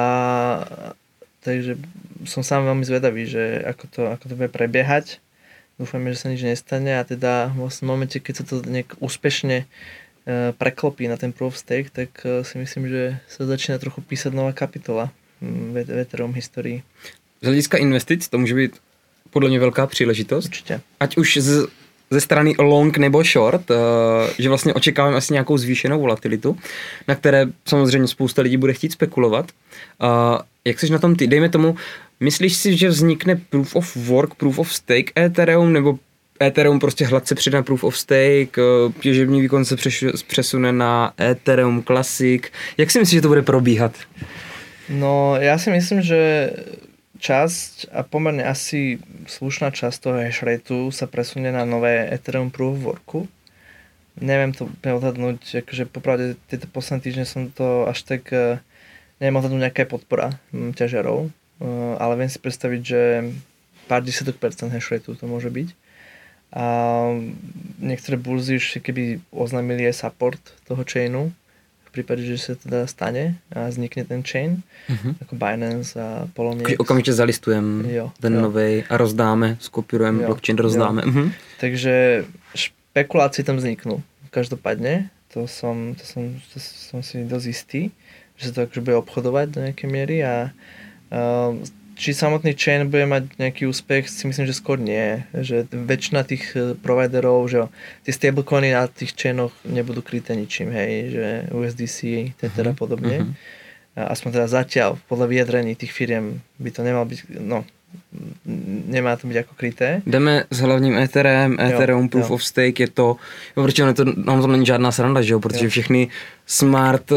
takže som sám veľmi zvedavý, že ako to, ako to bude prebiehať. Dúfame, že sa nič nestane a teda v momente, keď sa to nejak úspešne uh, preklopí na ten proof of stake, tak uh, si myslím, že sa začína trochu písať nová kapitola v, v Ethereum historii. Z hlediska investic to může být podle mě velká příležitost. Určitě. Ať už z, ze strany long nebo short, uh, že vlastně očekáváme asi nějakou zvýšenou volatilitu, na které samozřejmě spousta lidí bude chtít spekulovat. Uh, jak jsi na tom ty? Dejme tomu, myslíš si, že vznikne Proof of Work, Proof of Stake Ethereum, nebo Ethereum prostě hladce přidá Proof of Stake, těžební výkon se přesune na Ethereum Classic. Jak si myslíš, že to bude probíhat? No, ja si myslím, že časť a pomerne asi slušná časť toho hashrateu sa presunie na nové Ethereum Proof of Worku. Neviem to odhadnúť, akože popravde tieto posledné týždne som to až tak neviem odhadnúť nejaká podpora ťažiarov. Uh, ale viem si predstaviť, že pár desiatok percent hashrateu to môže byť. A niektoré burzy už keby oznámili aj support toho chainu, v prípade, že sa teda stane a vznikne ten chain, uh-huh. ako Binance a Poloniex. Okamžite zalistujem jo, ten jo. novej a rozdáme, skopírujeme blockchain, rozdáme. Uh-huh. Takže špekulácie tam vzniknú. Každopádne, to som, to som, to som si dosť istý, že sa to akože bude obchodovať do nejakej miery a Uh, či samotný chain bude mať nejaký úspech, si myslím, že skôr nie. Že väčšina tých providerov, že tie stablecoiny na tých chainoch nebudú kryté ničím, hej, že U S D C, Tether a podobne. Uh-huh. Aspoň teda zatiaľ, podľa vyjadrení tých firiem by to nemal byť, no, nemá to byť ako kryté. Jdeme s hlavním Etherem, Ethereum Proof jo. of Stake, je to, protože to, ono to není žádná sranda, že jo, protože jo. všechny smart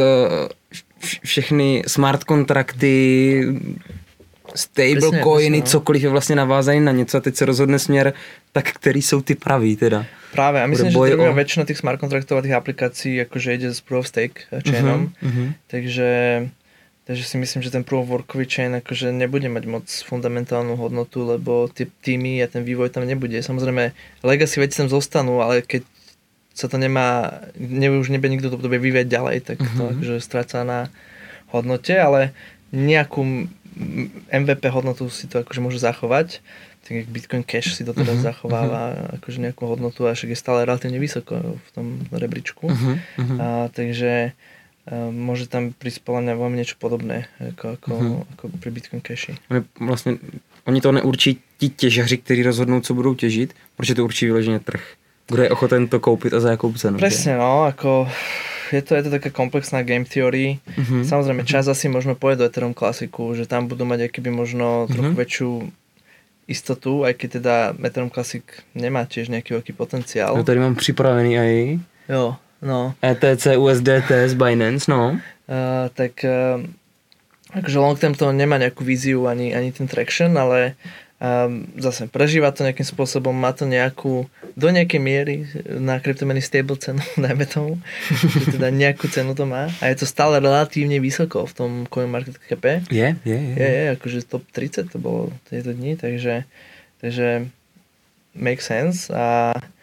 všechny smart kontrakty, stablecoiny, no. cokoliv je vlastně navázaný na něco a teď se rozhodne směr, tak který jsou ty pravý teda. Práve, a myslím, že druhá o... väčšina tých smart kontraktov a tých aplikácií akože ide s Proof of Stake chainom, uh-huh, uh-huh. takže takže si myslím, že ten Proof of Workový chain akože nebude mať moc fundamentálnu hodnotu, lebo tie týmy a ten vývoj tam nebude. Samozrejme, legacy veci tam zostanú, ale keď sa to nemá, ne, už nebude nikto to bude vyvíjať ďalej, tak to uh-huh. akože stráca na hodnote, ale nejakú M V P hodnotu si to akože môže zachovať. Tak jak Bitcoin Cash si to teda uh-huh, zachováva uh-huh. akože nejakú hodnotu a však je stále relatívne vysoko v tom rebríčku. Uh-huh, uh-huh. A, takže a, môže tam prísť podľa mňa veľmi niečo podobné ako, ako, uh-huh. ako pri Bitcoin Cashi. Oni, vlastne, oni to neurčí ti těžaři, kteří rozhodnou, co budou těžit, protože to určí vyloženě trh. Kdo je ochoten to koupit a za jakou cenu. Presne, no, ako je to, je to taká komplexná game theory. Uh-huh. Samozrejme, čas asi možno pôjde do Ethereum Classicu, že tam budú mať akýby možno uh-huh. trochu väčšiu istotu, aj keď teda Ethereum Classic nemá tiež nejaký veľký potenciál. No tady mám připravený aj jo, no. E T C, U S D T z Binance, no. Uh, tak uh, akože long term to nemá nejakú víziu ani, ani ten traction, ale um, zase prežíva to nejakým spôsobom, má to nejakú, do nejakej miery na kryptomeny stable cenu, dajme tomu, že teda nejakú cenu to má a je to stále relatívne vysoko v tom CoinMarketCape. Je, je, je. Je, je, akože top tridsať to bolo tieto dni, takže, takže make sense a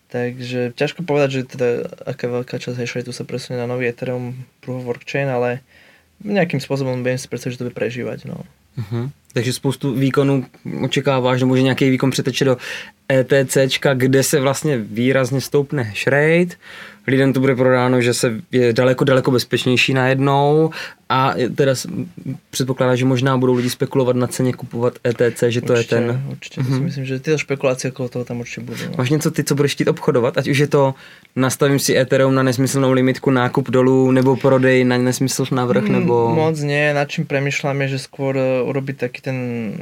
Takže ťažko povedať, že teda aká veľká časť hash rateu sa presunie na nový Ethereum Proof of Work chain, ale nejakým spôsobom viem si predstaviť, že to bude prežívať. No. Uh-huh. Takže spoustu výkonů očekáváš, nebo že nějaký výkon přeteče do ETCčka, kde se vlastně výrazně stoupne hash rate. Lidem to bude prodáno, že se je daleko, daleko bezpečnější najednou a teda předpokládá, že možná budou lidi spekulovat na ceně kupovat E T C, že to určitě, je ten... Určitě, mm-hmm. si myslím, že tyto špekulace okolo toho tam určitě budou. No. Máš něco ty, co budeš chtít obchodovat? Ať už je to nastavím si Ethereum na nesmyslnou limitku, nákup dolů, nebo prodej na nesmysl navrch, mm, nebo... Moc nie, nad čím premýšľam je, že skôr urobiť taký ten...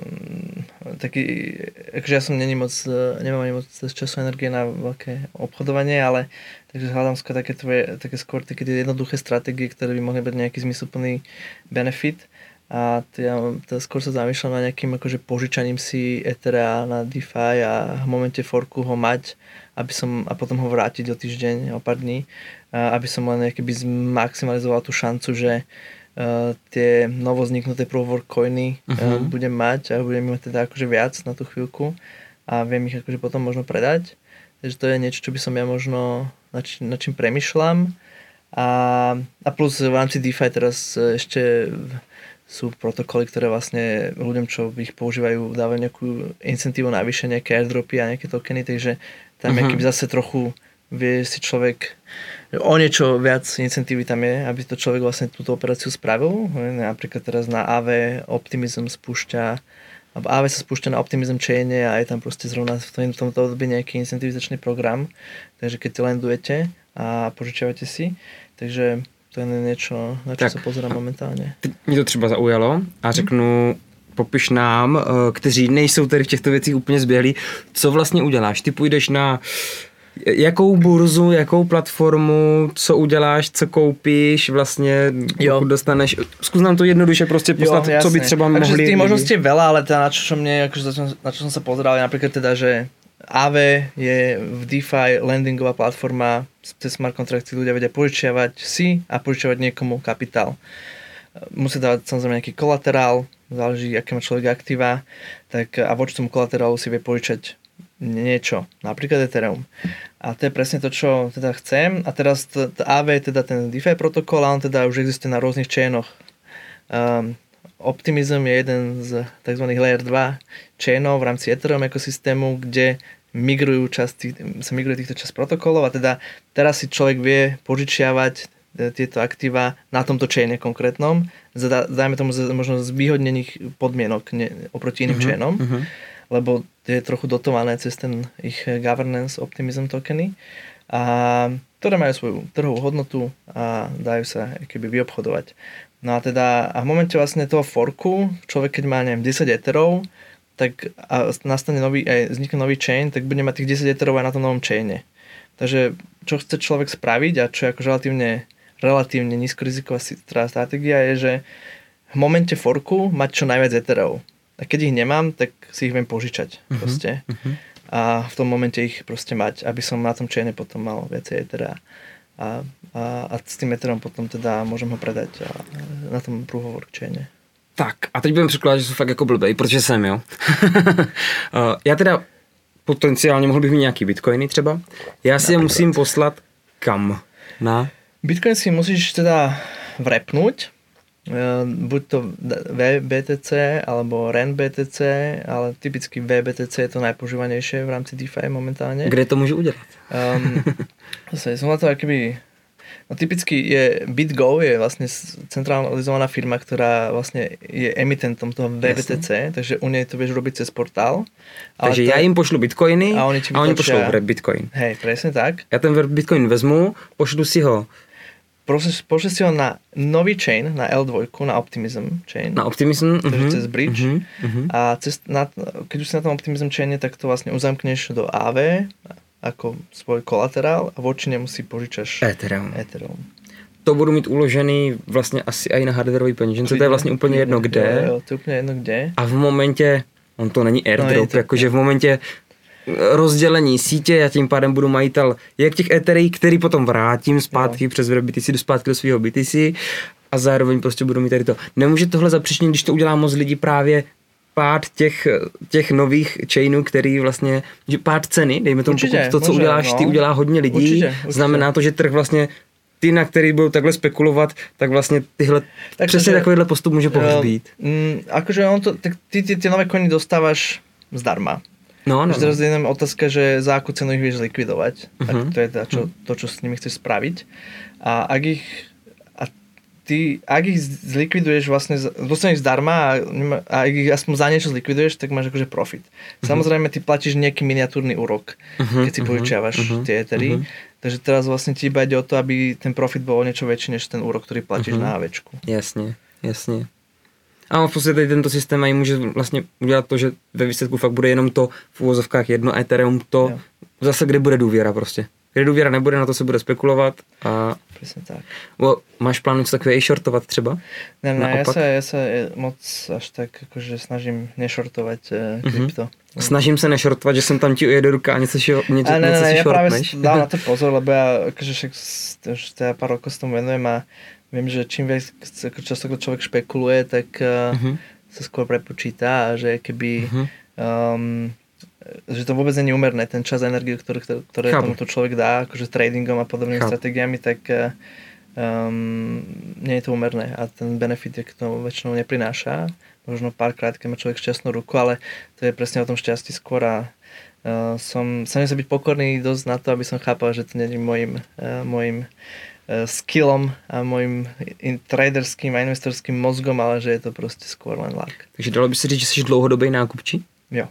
taký, akože ja som není moc, nemám ani moc času energie na veľké obchodovanie, ale takže hľadám skôr také, tvoje, také skôr také jednoduché stratégie, ktoré by mohli byť nejaký zmysluplný benefit. A ja teda skôr sa zamýšľam na nejakým akože požičaním si Ethera na DeFi a v momente forku ho mať, aby som, a potom ho vrátiť o týždeň, o pár dní, aby som len nejaký zmaximalizoval tú šancu, že uh, tie novozniknuté Proof of Work coiny uh, uh-huh. budem mať a budem mať teda akože viac na tú chvíľku a viem ich akože potom možno predať. Takže to je niečo, čo by som ja možno nad čím, nad čím premyšľam. A, a plus v rámci DeFi teraz ešte sú protokoly, ktoré vlastne ľuďom, čo ich používajú, dávajú nejakú incentívu navyše, nejaké airdropy a nejaké tokeny, takže tam uh-huh. je keby zase trochu vie si človek, o niečo viac incentívy tam je, aby to človek vlastne túto operáciu spravil. Napríklad teraz na á vé Optimism spúšťa alebo á vé sa spúšťa na Optimism chaine a je tam proste zrovna v tomto období nejaký incentivizačný program, takže keď lendujete a požičiavate si, takže to je niečo, na čo tak, sa pozerám momentálne. Mě to třeba zaujalo a řeknu, hmm. popiš nám, kteří nejsou tady v těchto věcích úplně zběhlí, co vlastně uděláš? Ty půjdeš na jakou burzu, jakou platformu, co uděláš, co koupíš, vlastně jo. pokud dostaneš, zkus nám to jednoduše prostě poslat, jo, co by třeba takže mohli... Takže tých možností je veľa, ale teda na čo, čo mne, akože na čo som sa pozeral, je napríklad teda, že á vé je v DeFi landingová platforma, cez smart kontrakty ľudia vedia požičiavať si a požičiavať niekomu kapitál. Musí dávať samozrejme nejaký kolaterál, záleží, aké má človek aktíva, tak a voči tomu kolaterálu si vie požičať niečo, napríklad Ethereum. A to je presne to, čo teda chcem. A teraz t- t- á vé je teda ten DeFi protokol a on teda už existuje na rôznych chainoch. Um, Optimism je jeden z tzv. Layer dva chainov v rámci Ethereum ekosystému, kde migrujú časti, sa migruje týchto časť protokolov a teda teraz si človek vie požičiavať tieto aktíva na tomto chaine konkrétnom, dajme tomu možno z výhodnených podmienok ne, oproti iným uh-huh, chainom, uh-huh. lebo je trochu dotované cez ten ich governance optimism tokeny, a ktoré majú svoju trhovú hodnotu a dajú sa keby vyobchodovať. No a teda a v momente vlastne toho forku, človek keď má neviem desať etherov, tak a nastane nový, aj vznikne nový chain, tak bude mať tých desať etherov aj na tom novom chaine. Takže čo chce človek spraviť a čo je ako relatívne, relatívne nízkoriziková stratégia je, že v momente forku mať čo najviac etherov. A keď ich nemám, tak si ich viem požičať uh-huh, proste. Uh-huh. A v tom momente ich proste mať, aby som na tom chaine potom mal viacej ethera. A, a, a s tým etherom potom teda môžem ho predať a, na tom Proof of Work chaine. Tak a teď budem překládat, že jsou fakt jako blbej, protože jsem, jo. Já teda potenciálně mohl bych mít nějaký bitcoiny třeba. Já si je musím poslat kam? Na? Bitcoin si musíš teda vrepnúť. Buď to V B T C alebo R E N B T C, ale typicky V B T C je to najpožívanejšie v rámci DeFi momentálne. Kde to môžu udělat? Um, zase, som na to akoby... No typicky je BitGo, je vlastne centralizovaná firma, ktorá vlastne je emitentom toho V B T C, jasne. Takže u nej to vieš robiť cez portál. Takže to... ja im pošlu bitcoiny a oni, a oni pošlou bitcoin. Hej, presne tak. Ja ten bitcoin vezmu, pošlu si ho Pošli si ho na nový chain, na L dva, na Optimism chain. Na Optimism, takže uh-huh, cez bridge. Uh-huh, uh-huh. A cez, na, keď už si na tom Optimism chaine, tak to vlastne uzamkneš do á vé ako svoj kolaterál a voči nemu si požičaš Ethereum. Ethereum. To budu mít uložený vlastně asi i na hardwareový peněžence, to je vlastně úplně jedno kde. Jo, jo, to je úplně jedno kde. A v momentě, on to není airdrop, no, jakože v momentě rozdělení sítě, já tím pádem budu majitel jak těch etherí, který potom vrátím zpátky jo. přes B T C do zpátky do svého B T C a zároveň prostě budu mít tady to. Nemůže tohle zapříčinit, když to udělá moc lidí právě pád těch, těch nových chainů, který vlastně, že pád ceny, dejme tomu, určitě, pokud to, co může, uděláš, no. ty udělá hodně lidí, určitě, určitě. Znamená to, že trh vlastně ty, na který budou takhle spekulovat, tak vlastně tyhle, tak přesně že, takovýhle postup může pohřbít. Um, akože on to, tak ty, ty, ty nové koiny dostávaš zdarma. No, no, no. Teraz je jenom otázka, že za akú cenu ich vieš zlikvidovať. Uh-huh. Ak to je to, čo, to, čo s nimi chceš spraviť. A ak ich, a ty, ak ich zlikviduješ vlastne, dostaneš zdarma a, a ak ich aspoň za niečo zlikviduješ, tak máš akože profit. Uh-huh. Samozrejme, ty platíš nejaký miniatúrny úrok, uh-huh, keď si uh-huh, požičiavaš uh-huh, tie etery. Uh-huh. Takže teraz vlastne ti iba ide o to, aby ten profit bol o niečo väčší, než ten úrok, ktorý platíš uh-huh. na ávečku. Jasne, jasne. A v podstatě tady tento systém aj může vlastně udělat to, že ve výsledku fakt bude jenom to v úvozovkách jedno Ethereum, to jo. Zase kde bude důvěra prostě. Kde důvěra nebude, na to se bude spekulovat a... Přesně tak. Bo, máš plán něco takové i shortovat třeba? Ne, ne, ja sa, ja sa moc až tak akože snažím nešortovať uh, krypto. Mm-hmm. Snažím se nešortovat, že jsem tam ti ujede ruka a něco, ši, něco, a ne, něco ne, si ja shortneš. práve dám na to pozor, lebo ja akože však už teda pár rokov s tomu venujem a viem, že čím viac často človek špekuluje, tak uh, uh-huh. sa skôr prepočíta a že keby uh-huh. um, že to vôbec nie je úmerné, ten čas a energiu, ktoré, ktoré tomuto človek dá, akože tradingom a podobnými Chápu. stratégiami, tak um, nie je to úmerné a ten benefit je k tomu väčšinou neprináša. Možno párkrát, keď má človek šťastnú ruku, ale to je presne o tom šťastí skôr a uh, som, sa nesem byť pokorný dosť na to, aby som chápal, že to nie je môjim, uh, môjim uh, skillom a môjim in, traderským a investorským mozgom, ale že je to proste skôr len lak. Takže dalo by se říct, že jsi dlouhodobý nákupčí? Jo.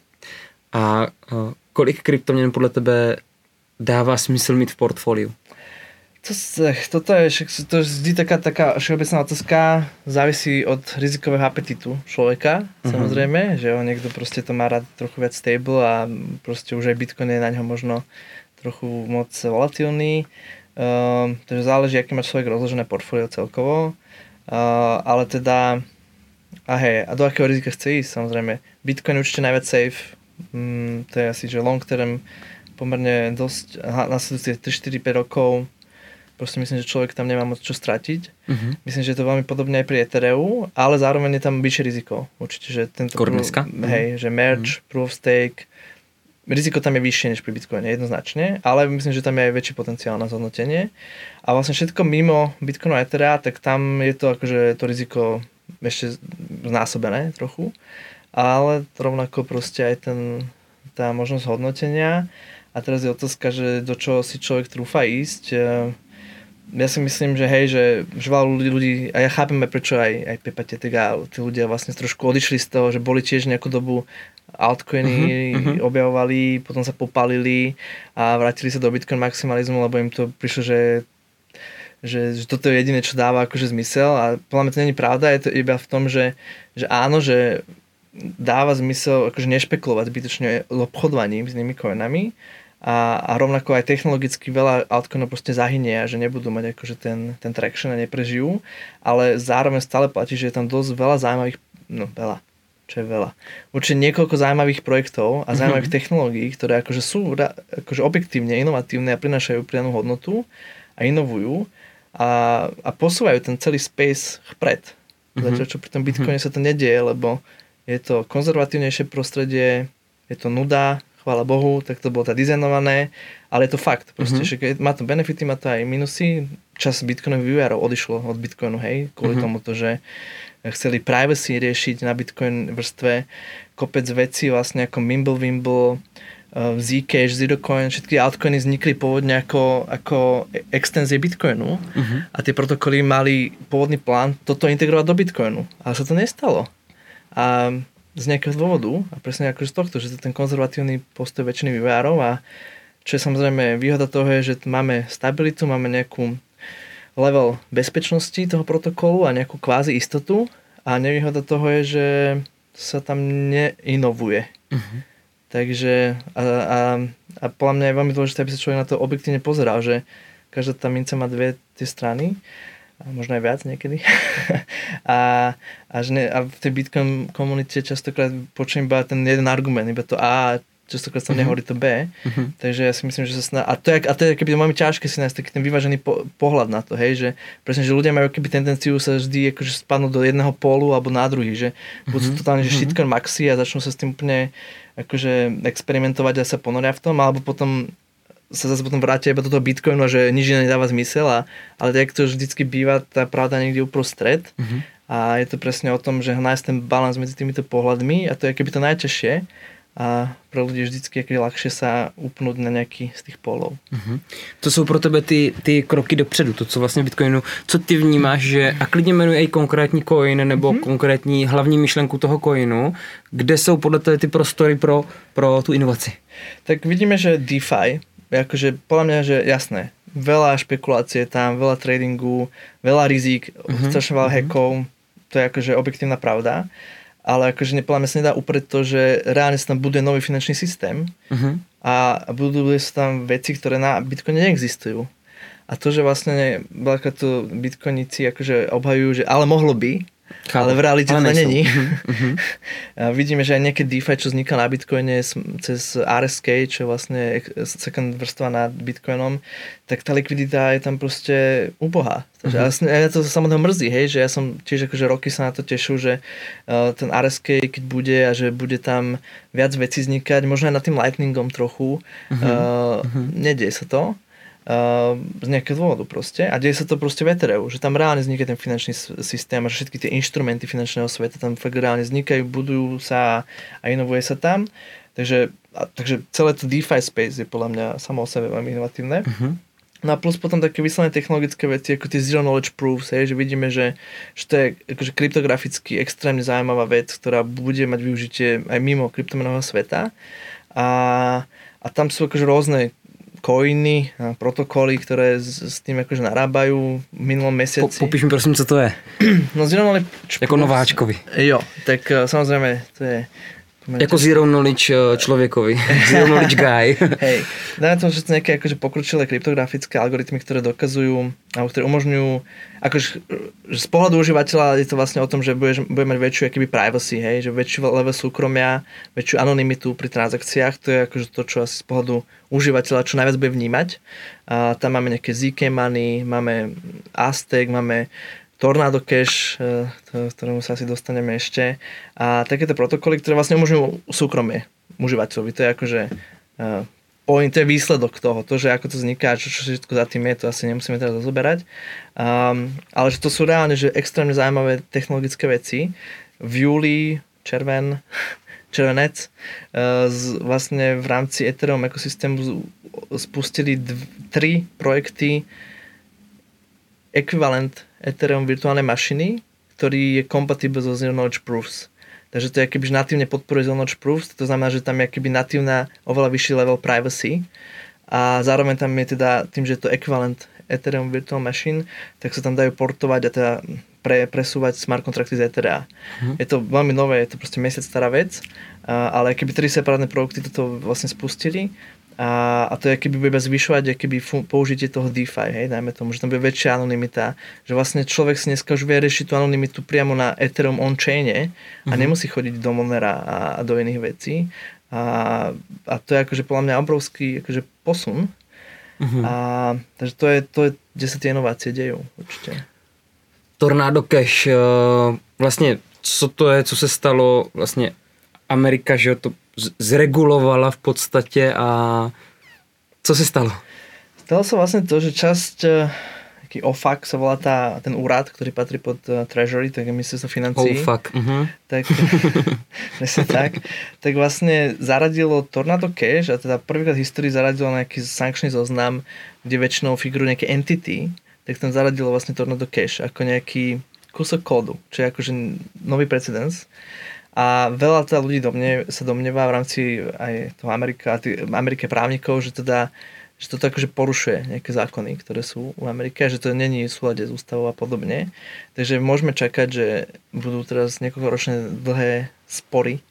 A uh, kolik kryptoměn podle tebe dává smysl mít v portfoliu? To, toto je, to je vždy taká, taká všeobecná otázka, závisí od rizikového apetitu človeka, uh-huh. samozrejme, že on niekto proste to má rád trochu viac stable a proste už aj Bitcoin je na ňo možno trochu moc volatilný, uh, takže záleží, aký má človek rozložené portfólio celkovo, uh, ale teda, a hej, a do akého rizika chce ísť, samozrejme, Bitcoin je určite najviac safe, um, to je asi, že long term pomerne dosť, nasledujúce tri štyri päť rokov, proste myslím, že človek tam nemá moc čo stratiť. Uh-huh. Myslím, že je to veľmi podobné aj pri Ethereu, ale zároveň je tam vyššie riziko. Určite, že tento prv, hej, že merge, uh-huh. proof of stake, riziko tam je vyššie než pri Bitcoine, jednoznačne, ale myslím, že tam je aj väčší potenciál na zhodnotenie. A vlastne všetko mimo Bitcoinu a Ethera, tak tam je to akože to riziko ešte znásobené trochu, ale rovnako proste aj ten, tá možnosť hodnotenia. A teraz je otázka, že do čoho si človek trúfa ísť. Ja si myslím, že hej, že, že veľa ľudí, a ja chápem aj prečo aj, aj Pepa Tetek a tí ľudia vlastne trošku odišli z toho, že boli tiež nejakú dobu altcoiny uh-huh. objavovali, potom sa popálili a vrátili sa do Bitcoin maximalizmu, lebo im to prišlo, že, že, že toto je jediné, čo dáva akože zmysel a podľa mňa to nie je pravda, je to iba v tom, že, že áno, že dáva zmysel akože nešpekulovať zbytočne obchodovaním s nimi coinami, A, a rovnako aj technologicky veľa altcoinov proste zahynie a že nebudú mať akože ten, ten traction a neprežijú, ale zároveň stále platí, že je tam dosť veľa zaujímavých, no veľa, čo je veľa, určite niekoľko zaujímavých projektov a zaujímavých mm-hmm. technológií, ktoré akože sú akože objektívne inovatívne a prinášajú pridanú hodnotu a inovujú a, a posúvajú ten celý space vpred. Mm-hmm. Zatiaľ, čo pri tom Bitcoine mm-hmm. sa to nedieje, lebo je to konzervatívnejšie prostredie, je to nuda, chvála Bohu, tak to bolo tá dizajnované, ale je to fakt. Proste, mm-hmm. že má to benefity, má to aj minusy. Čas Bitcoinových vývojárov odišlo od Bitcoinu, hej, kvôli mm-hmm. tomu, že chceli privacy riešiť na Bitcoin vrstve kopec vecí, vlastne ako Mimblewimble, Zcash, Zerocoin, všetky altcoiny vznikli pôvodne ako, ako extenzie Bitcoinu mm-hmm. a tie protokoly mali pôvodný plán toto integrovať do Bitcoinu, ale sa to nestalo. A z nejakého dôvodu a presne ako z tohto, že to je ten konzervatívny postoj väčšiny vývojárov a čo je samozrejme výhoda toho je, že máme stabilitu, máme nejakú level bezpečnosti toho protokolu a nejakú kvázi istotu a nevýhoda toho je, že sa tam neinovuje. Uh-huh. Takže a, a, a podľa mňa je veľmi dôležité, aby sa človek na to objektívne pozeral, že každá tá minca má dve tie strany a možno aj viac niekedy. a, a, že ne, a v tej Bitcoin komunite častokrát počujem iba ten jeden argument, iba to A, častokrát sa Mhm. nehovorí to B, Mhm. takže ja si myslím, že sa sná... A to je, a to je keby veľmi ťažké si nájsť taký ten vyvážený po, pohľad na to, hej, že presne, že ľudia majú keby tendenciu sa vždy akože spadnúť do jedného pólu alebo na druhý, že buď sú Mhm. totálne, že Mhm. shitcoin maxi a začnú sa s tým úplne akože experimentovať a sa ponoria v tom, alebo potom sa zase potom vrátia iba do toho Bitcoinu, že nič iné nedáva zmysel, a, ale tak to vždycky býva, tá pravda niekde uprostred. Mhm. A je to presne o tom, že nájsť ten balans medzi týmito pohľadmi, a to je keby to najťažšie, a pre ľudí je vždycky je ľahšie sa upnúť na nejaký z tých polov. Mhm. To jsou pro tebe ty, ty kroky dopředu, to co vlastně v Bitcoinu, co ty vnímáš, že, a klidně jmenuji i konkrétní coin nebo Mhm. konkrétní hlavní myšlenku toho coinu, kde jsou podle tebe ty prostory pro, pro tu inovaci? Tak vidíme, že DeFi, akože podľa mňa, že jasné, veľa špekulácie tam, veľa tradingu, veľa rizík, Mhm. strašne veľa Mhm. hackov, to je akože objektívna pravda, ale akože podľa mňa sa nedá uprieť to, že reálne sa tam buduje nový finančný systém Mhm. a budú sa tam veci, ktoré na Bitcoine neexistujú. A to, že vlastne veľakrát to bitcoinici akože obhajujú, že ale mohlo by, Chápu. ale v realite to nejsou. není. Mhm. Mhm. A vidíme, že aj nejaké DeFi, čo vzniká na Bitcoine cez R S K, čo je vlastne second vrstva nad Bitcoinom, tak tá likvidita je tam proste ubohá. Takže Mhm. ja to samotného mrzí, hej, že ja som tiež akože roky sa na to tešil, že uh, ten R S K, keď bude a že bude tam viac vecí vznikať, možno aj nad tým Lightningom trochu, Mhm. uh, Mhm. nedieje sa to. Uh, z nejakého dôvodu proste. A deje sa to proste v Ethereu, že tam reálne vzniká ten finančný systém a že všetky tie inštrumenty finančného sveta tam fakt reálne vznikajú, budujú sa a inovuje sa tam. Takže, a, takže celé to DeFi space je podľa mňa samo o sebe veľmi inovatívne. Mhm. No a plus potom také vyslené technologické veci, ako tie zero knowledge proofs, hej, že vidíme, že, že to je akože kryptograficky extrémne zaujímavá vec, ktorá bude mať využitie aj mimo kryptomenového sveta. A, a tam sú akože rôzne coiny a protokoly, ktoré s, s tým akože narábajú v minulom Po, mesiaci. popíš mi prosím, co to je. No zero knowledge Jako proofs- nováčkovi. Jo, tak uh, samozrejme to je... Jako zero knowledge uh, člověkovi. Zero knowledge guy. Hej, dajme tomu, že sú nejaké akože pokročilé kryptografické algoritmy, ktoré dokazujú, alebo ktoré umožňujú, akože že z pohľadu užívateľa je to vlastne o tom, že bude, bude mať väčšiu akoby privacy, hej, že väčší level súkromia, väčšiu anonymitu pri transakciách, to je akože to, čo asi z pohľadu užívateľa čo najviac bude vnímať. A tam máme nejaké zet ká Money, máme Aztec, máme Tornado Cash, to, ktorému sa asi dostaneme ešte. A takéto protokoly, ktoré vlastne umožňujú súkromie užívateľovi. To je akože uh, point, to je výsledok toho. To, že ako to vzniká, čo, čo všetko za tým je, to asi nemusíme teraz rozoberať. Um, ale že to sú reálne že extrémne zaujímavé technologické veci. V júli, červen, červenec, uh, z, vlastne v rámci Ethereum ekosystému z, spustili dv, tri projekty ekvivalent Ethereum virtuálnej mašiny, ktorý je compatible so Zero Knowledge Proofs. Takže to je akoby natívne podporuje Zero Knowledge Proofs, to znamená, že tam je akoby natívna oveľa vyšší level privacy a zároveň tam je teda, tým, že je to ekvivalent Ethereum Virtual Machine, tak sa tam dajú portovať a teda pre, presúvať smart kontrakty z Etherea. Mm. Je to veľmi nové, je to proste mesiac stará vec, ale keby tri separátne produkty toto vlastne spustili, A, a to je, keby bude zvyšovať keby fun- použitie toho DeFi, hej, dajme tomu, že tam bude väčšia anonymita, že vlastne človek si dneska už vie riešiť tú anonymitu priamo na Ethereum on-chaine a mm-hmm. nemusí chodiť do Monera a, a do iných vecí. A, a to je akože podľa mňa obrovský akože posun. Mm-hmm. A, takže to je, to je, kde sa tie inovácie dejú určite. Tornado Cash, vlastně co to je, co se stalo, vlastně Amerika, že to zregulovala v podstatě a co se stalo? Stalo sa vlastne to, že časť, taký O F A C sa volá tá, ten úrad, ktorý patrí pod uh, Treasury, tak je ministerstvo financií. Oh fuck. Uh-huh. Tak, tak, tak vlastne zaradilo Tornado Cash a teda prvýkrát v histórii zaradilo nejaký sankčný zoznam, kde väčšinou figurujú nejaké entity, tak tam zaradilo vlastne Tornado Cash ako nejaký kúsok kódu, čo je akože nový precedens. A veľa teda ľudí domne, sa domnieva v rámci aj toho Amerika, Amerike právnikov, že teda že toto akože porušuje nejaké zákony, ktoré sú v Amerike, že to není v súlade s ústavou a podobne. Takže môžeme čakať, že budú teraz niekoľkoročné dlhé spory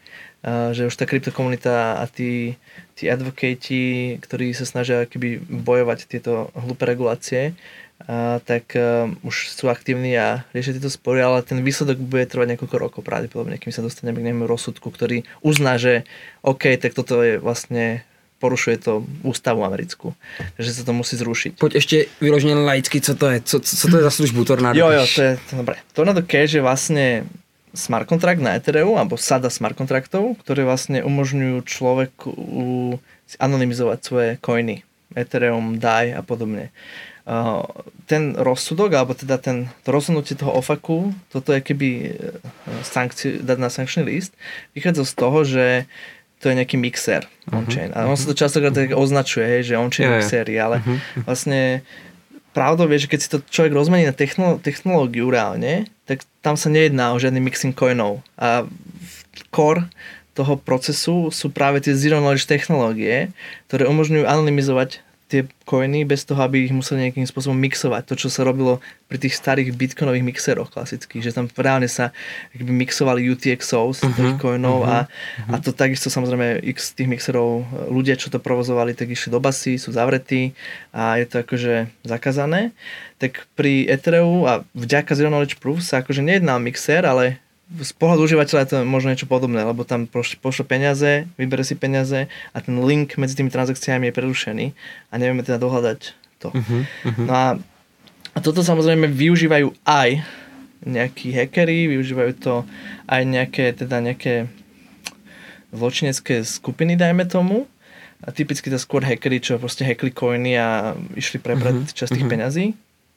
že už tá kryptokomunita a tí, tí advokáti, ktorí sa snažia keby bojovať tieto hlúpe regulácie, Uh, tak uh, už sú aktívni a riešia tieto spory, ale ten výsledok bude trvať niekoľko rokov pravdepodobne, kým sa dostaneme k nejakému rozsudku, ktorý uzná, že OK, tak toto je vlastne porušuje to ústavu americkú, že sa to musí zrušiť. Poď ešte vyložené laicky, co to je? Co, co to je za službu Tornado Jo, Cash? jo, to je to dobré. Tornado Cash je vlastne smart kontrakt na Ethereum, alebo sada smart kontraktov, ktoré vlastne umožňujú človeku anonymizovať svoje coiny. Ethereum, D A I a podobne. Uh, ten rozsudok, alebo teda ten, to rozhodnutie toho ofaku, toto je keby sankci, dať na sankčný list, vychádza z toho, že to je nejaký mixer uh-huh. on-chain. A on sa to častokrát tak označuje, že on-chain yeah, mixery, ale uh-huh. vlastne pravdou je, že keď si to človek rozmení na technolo- technológiu reálne, tak tam sa nejedná o žiadny mixing coinov. A core toho procesu sú práve tie zero knowledge technológie, ktoré umožňujú anonymizovať tie coiny bez toho, aby ich museli nejakým spôsobom mixovať. To, čo sa robilo pri tých starých bitcoinových mixeroch klasických, že tam reálne sa mixovali U T X Os uh-huh, tých coinov uh-huh, a, uh-huh. a to takisto samozrejme x tých mixerov, ľudia, čo to provozovali, tak išli do basy, sú zavretí a je to akože zakázané. Tak pri Ethereu a vďaka Zero Knowledge Proof sa akože nejedná mixer, ale z pohľadu užívateľa je to možno niečo podobné, lebo tam pošle peniaze, vybere si peniaze a ten link medzi tými transakciami je prerušený a nevieme teda dohľadať to. Uh-huh, uh-huh. No a, a toto samozrejme využívajú aj nejakí hackeri, využívajú to aj nejaké, teda nejaké zločinecké skupiny, dajme tomu. A typicky to skôr hackeri, čo proste hackli coiny a išli prebrať uh-huh, časť tých uh-huh. peňazí.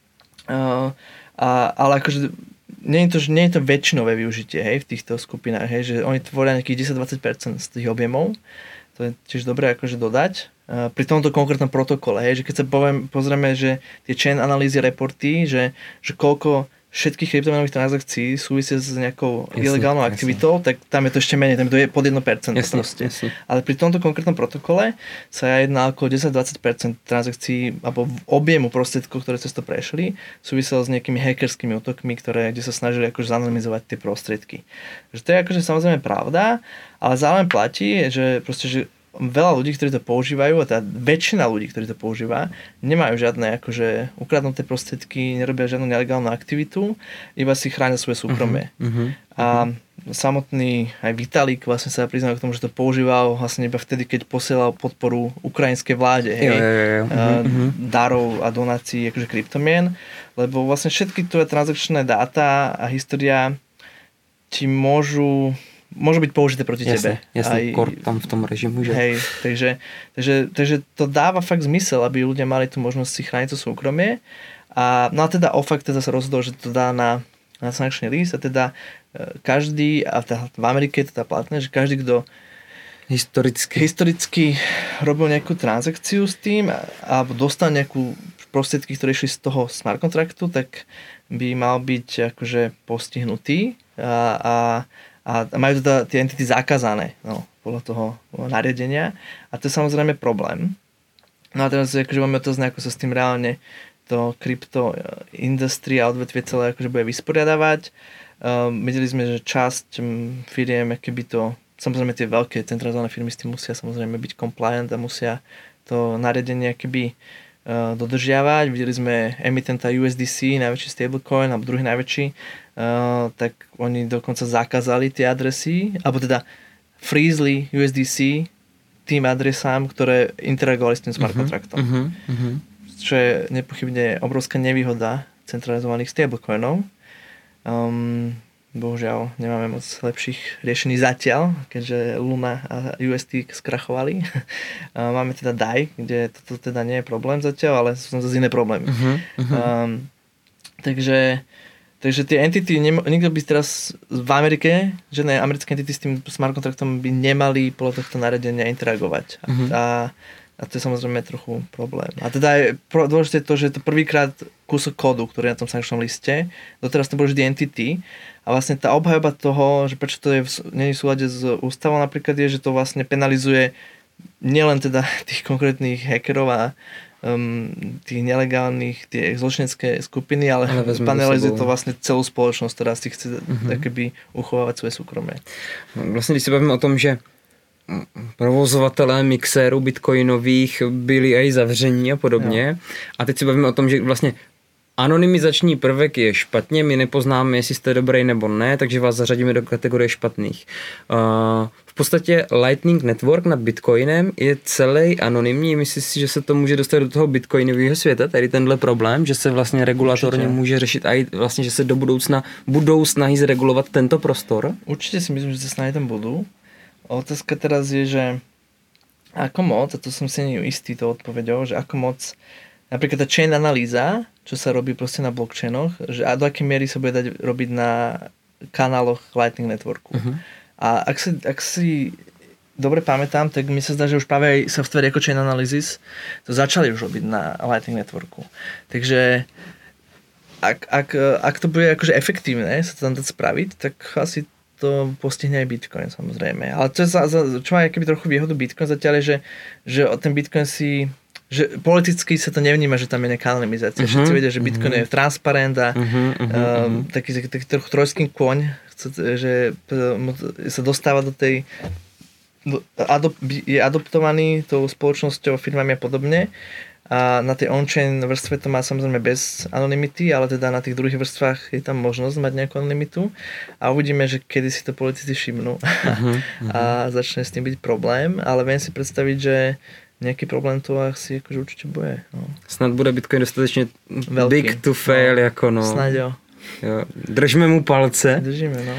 Uh, a, ale akože Nie je, to, nie je to väčšinové využitie, hej, v týchto skupinách, hej, že oni tvoria nejakých desať až dvadsať percent z tých objemov. To je tiež dobré akože dodať. Uh, pri tomto konkrétnom protokole, hej, že keď sa poviem, pozrieme, že tie chain analýzy reporty, že, že koľko všetkých kryptomenových transakcií súvisia s nejakou jasne, ilegálnou aktivitou, jasne. Tak tam je to ešte menej, tam je to pod jedno percento jasne, proste. Jasne. Ale pri tomto konkrétnom protokole sa jedná okolo desať až dvadsať percent transakcií alebo objemu prostriedkov, ktoré cez to prešli, súviselo s nejakými hackerskými útokmi, ktoré, kde sa snažili akože zanonymizovať tie prostriedky. Že to je akože samozrejme pravda, ale zároveň platí, že proste, že veľa ľudí, ktorí to používajú, a tá väčšina ľudí, ktorí to používa, nemajú žiadne akože ukradnuté prostriedky, nerobia žiadnu nelegálnu aktivitu, iba si chránia svoje súkromie. Uh-huh, uh-huh, a samotný aj Vitalik vlastne sa priznal k tomu, že to používal vlastne iba vtedy, keď posielal podporu ukrajinskej vláde, hej, jo, jo, jo. Uh-huh. darov a donácií akože kryptomien, lebo vlastne všetky tvoje transakčné dáta a história ti môžu môžu byť použité proti jasne, tebe. Jasne, kor tam v tom režimu, že? Hej, takže, takže, takže to dáva fakt zmysel, aby ľudia mali tú možnosť si chrániť to súkromie. A, no a teda OFAC teda sa rozhodol, že to dá na, na sankčný list a teda každý, a teda v Amerike je to teda platné, že každý, kto historicky, historicky robil nejakú transakciu s tým alebo dostal nejakú prostriedky, ktoré išli z toho smart kontraktu, tak by mal byť akože postihnutý a, a a majú teda tie entity zakázané, no, podľa toho nariadenia. A to je samozrejme problém. No a teraz akože máme to znať, ako sa s tým reálne to krypto industria a odvetvie celé akože bude vysporiadavať. Um, videli sme, že časť um, firiem, keby to, samozrejme tie veľké centralizované firmy s tým musia samozrejme byť compliant a musia to nariadenie keby uh, dodržiavať. Videli sme emitenta U S D C, najväčší stablecoin, alebo druhý najväčší, Uh, tak oni dokonca zakázali tie adresy, alebo teda freezli U S D C tým adresám, ktoré interagovali s tým smart kontraktom. Uh-huh, uh-huh. Čo je nepochybne obrovská nevýhoda centralizovaných stablecoinov. Um, bohužiaľ nemáme moc lepších riešení zatiaľ, keďže Luna a U S T skrachovali. uh, máme teda D A I, kde toto teda nie je problém zatiaľ, ale sú tam zase iné problémy. Uh-huh, uh-huh. Um, takže Takže tie entity, nikto by teraz v Amerike, žiadne americké entity s tým smart kontraktom by nemali podľa tohto nariadenia interagovať. Uh-huh. A, a to je samozrejme trochu problém. A teda je dôležité to, že je to prvýkrát kúsok kódu, ktorý je na tom sankčnom liste. Doteraz to bolo vždy entity. A vlastne tá obhajoba toho, že prečo to je v, nie je v súlade s ústavou napríklad, je, že to vlastne penalizuje nielen teda tých konkrétnych hackerov a um, tých nelegálnych, tie zločinecké skupiny, ale, ale panelizuje to vlastne celú spoločnosť, ktorá si chce uh-huh. takoby uchovávať svoje súkromie. Vlastně, když se bavíme o tom, že provozovatelé mixérů bitcoinových byli aj zavření a podobně. Jo. A teď se bavíme o tom, že vlastně anonymizační prvek je špatně, my nepoznáme, jestli jste dobrý nebo ne, takže vás zařadíme do kategorie špatných. Uh, v podstatě Lightning Network nad Bitcoinem je celý anonymní. Myslíš si, že se to může dostat do toho bitcoinového světa, tady tenhle problém, že se vlastně regulatorně Určitě. může řešit a vlastně, že se do budoucna budou snahy zregulovat tento prostor? Určitě si myslím, že se snahy tam budou. Otázka teraz je, že ako moc, a to som si nie istý to odpovedou, že ako moc, napríklad tá chain analýza, čo sa robí proste na blockchainoch, že a do akej miery sa bude dať robiť na kanáloch Lightning Networku. Uh-huh. A ak si, ak si dobre pamätám, tak mi sa zdá, že už práve aj software ako chain analysis to začali už robiť na Lightning Networku. Takže ak, ak, ak to bude akože efektívne sa to tam dať spraviť, tak asi to postihne aj Bitcoin, samozrejme. Ale to je za, za, čo má akoby trochu výhodu Bitcoin zatiaľ je, že, že ten Bitcoin si, že politicky sa to nevníma, že tam je nejaká anonymizácia. Uh-huh, Všetci vedia, že Bitcoin uh-huh. je transparent a uh-huh, uh-huh, um, taký, taký, taký trochu trojský kôň, že sa dostáva do tej do, adop, je adoptovaný tou spoločnosťou, firmami a podobne. A na tej on-chain vrstve to má samozrejme bez anonymity, ale teda na tých druhých vrstvách je tam možnosť mať nejakú anonymitu a uvidíme, že kedy si to politici všimnú uh-huh, uh-huh. a začne s tým byť problém, ale viem si predstaviť, že nejaký problém to asi akože určite bude. No. Snad bude Bitcoin dostatečne Veľký. big to fail, no. jako no. Snad jo. Jo. Držíme mu palce. Držíme, no.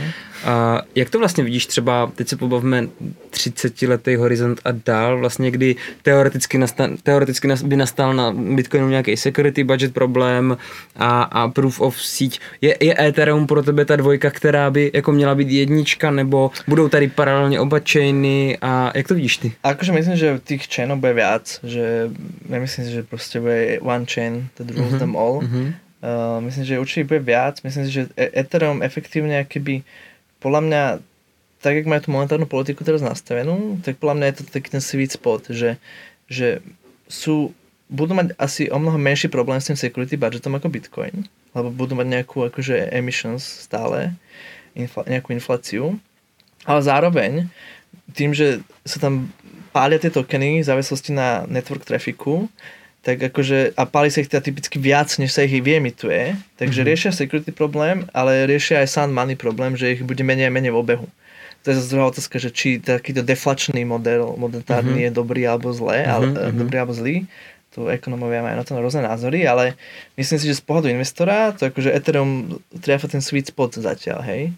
A jak to vlastně vidíš třeba, teď se pobavíme třicetiletý horizont a dál, vlastně kdy teoreticky, nastal, teoreticky by nastal na Bitcoinu nějaký security budget problém a, a proof of síť. Je, je Ethereum pro tebe ta dvojka, která by jako měla být jednička, nebo budou tady paralelně oba chainy a jak to vidíš ty? Akože myslím, že tých chainov bude viac, že nemyslím si, že proste bude one chain that rules uh-huh, them all. Uh-huh. Uh, myslím, že určite bude viac. Myslím si, že Ethereum efektívne keby podľa mňa, tak jak majú tú monetárnu politiku teraz nastavenú, tak podľa mňa je to taký ten sweet spot, že, že sú, budú mať asi o mnoho menší problém s tým security budgetom ako Bitcoin, lebo budú mať nejakú akože emissions stále, infl- nejakú infláciu, ale zároveň tým, že sa tam pália tie tokeny v závislosti na network trafficu, tak akože, a páli sa ich teda typicky viac, než sa ich vyemituje, takže mm-hmm. riešia security problém, ale riešia aj sound money problém, že ich bude menej a menej v obehu. To je zase druhá otázka, že či takýto deflačný model monetárny mm-hmm. je dobrý alebo zlé, mm-hmm. ale, mm-hmm. dobrý alebo zlý. Tu ekonomovia majú na to rôzne názory, ale myslím si, že z pohľadu investora, to akože Ethereum triafa ten sweet spot zatiaľ, hej.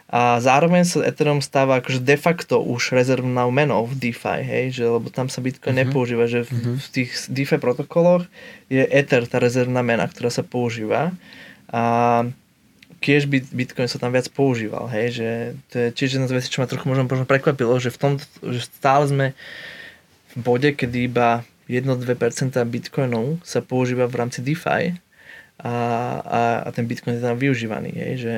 A zároveň sa Ethereum stáva akože de facto už rezervnou menou v DeFi, hej, že, lebo tam sa Bitcoin uh-huh. nepoužíva, že v, uh-huh. v tých DeFi protokoloch je Ether tá rezervná mena, ktorá sa používa a tiež Bitcoin sa tam viac používal, hej, že to je tiež jedna z vecí, čo ma trochu možno, možno prekvapilo, že v tom, že stále sme v bode, kedy iba jedno až dve percentá Bitcoinov sa používa v rámci DeFi a, a, a ten Bitcoin je tam využívaný, hej, že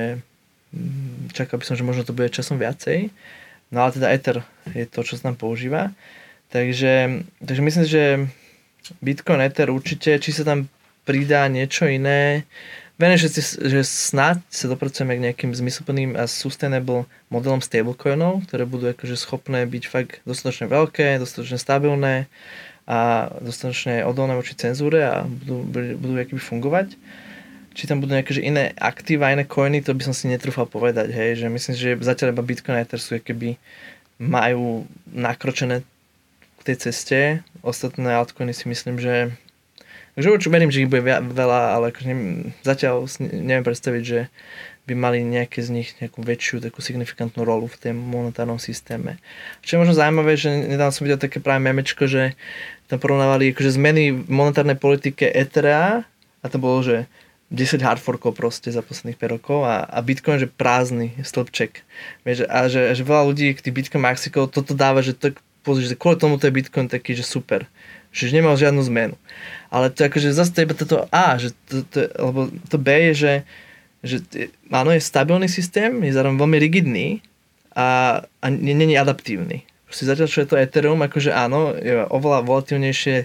čakal by som, že možno to bude časom viacej. No ale teda Ether je to, čo sa tam používa. Takže, takže myslím, že Bitcoin, Ether určite, či sa tam pridá niečo iné. Viem, že, že snáď sa dopracujeme k nejakým zmysluplným a sustainable modelom stablecoinov, ktoré budú akože schopné byť fakt dostatočne veľké, dostatočne stabilné a dostatočne odolné voči cenzúre a budú, budú akoby fungovať. Či tam budú nejaké že iné aktíva, iné coiny, to by som si netrúfal povedať, hej, že myslím, že zatiaľ iba Bitcoin a Ether sú keby majú nakročené k tej ceste, ostatné altcoiny si myslím, že takže určite verím, že ich bude veľa, ale akože neviem, zatiaľ neviem predstaviť, že by mali nejaké z nich nejakú väčšiu takú signifikantnú rolu v tom monetárnom systéme. Čo je možno zaujímavé, že nedávno som videl také práve memečko, že tam porovnávali akože zmeny v monetárnej politike Ethera a to bolo, že desať hardforkov proste za posledných päť rokov a, a Bitcoin, že prázdny stĺpček. Vieš, a že, že veľa ľudí, tých Bitcoin maxikov, toto dáva, že, to, že kvôli tomu to je Bitcoin taký, že super. Že nemal žiadnu zmenu. Ale to akože zase to je toto A, že to, to, lebo to B je, že, že áno, je stabilný systém, je zároveň veľmi rigidný a, a nie je adaptívny. Proste zatiaľ, čo je to Ethereum, akože áno, je oveľa volatilnejšie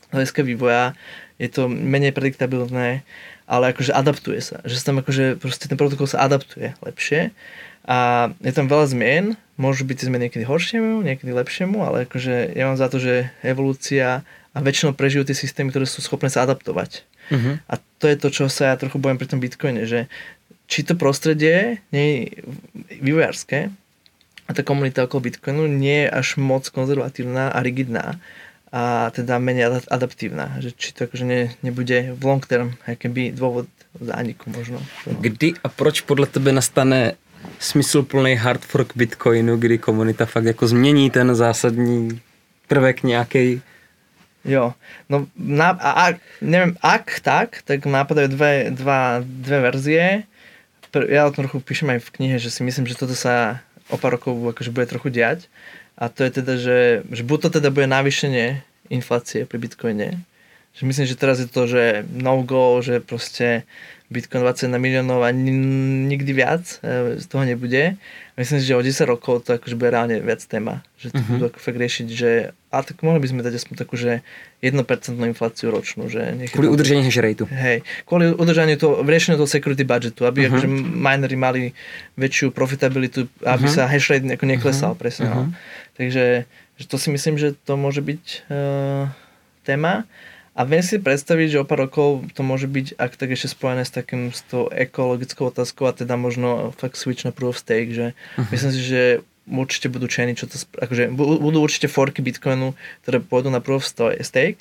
hľadiska vývoja je to menej prediktabilné, ale akože adaptuje sa. Že sa tam akože proste ten protokol sa adaptuje lepšie a je tam veľa zmien, môžu byť tie zmeny niekedy horšiemu, niekedy lepšiemu, ale akože ja mám za to, že evolúcia a väčšinou prežijú tie systémy, ktoré sú schopné sa adaptovať. Uh-huh. A to je to, čo sa ja trochu bojím pri tom Bitcoine, že či to prostredie nie je vývojárske a tá komunita okolo Bitcoinu nie je až moc konzervatívna a rigidná a teda menej adaptívna. Že či to akože ne, nebude v long term jakýby dôvod zániku možno. Kdy a proč podle tebe nastane smysluplný hard fork Bitcoinu, kdy komunita fakt jako změní ten zásadní prvek nějaký? Jo, no na, a, a neviem, ak tak, tak nápadajú dve, dva, dve verzie. Ja o tom trochu píšem aj v knihe, že si myslím, že toto sa o pár rokov akože bude trochu diať. A to je teda, že, že buď to teda bude navýšenie inflácie pri Bitcoine. Že myslím, že teraz je to, že no go, že proste Bitcoin dvadsaťjeden miliónov a nikdy viac z toho nebude. Myslím si, že o desať rokov to akože bude reálne viac téma. Že to uh-huh. budú ako fakt riešiť, že a tak mohli by sme dať aspoň takú, že jedno percento infláciu ročnú. Že kvôli to, udržaniu hash rateu. Hej, kvôli udržaniu toho, riešeniu toho security budgetu, aby uh-huh. akože minery mali väčšiu profitabilitu, aby uh-huh. sa hash rate ako neklesal, uh-huh. presne. Uh-huh. No. Takže že to si myslím, že to môže byť uh, téma. A viem si predstaviť, že o pár rokov to môže byť ak tak ešte spojené s takým s tou ekologickou otázkou a teda možno fakt switch na proof of stake, že uh-huh. myslím si, že určite budú chainy, čo to, akože budú určite forky Bitcoinu, ktoré pôjdu na proof of stake.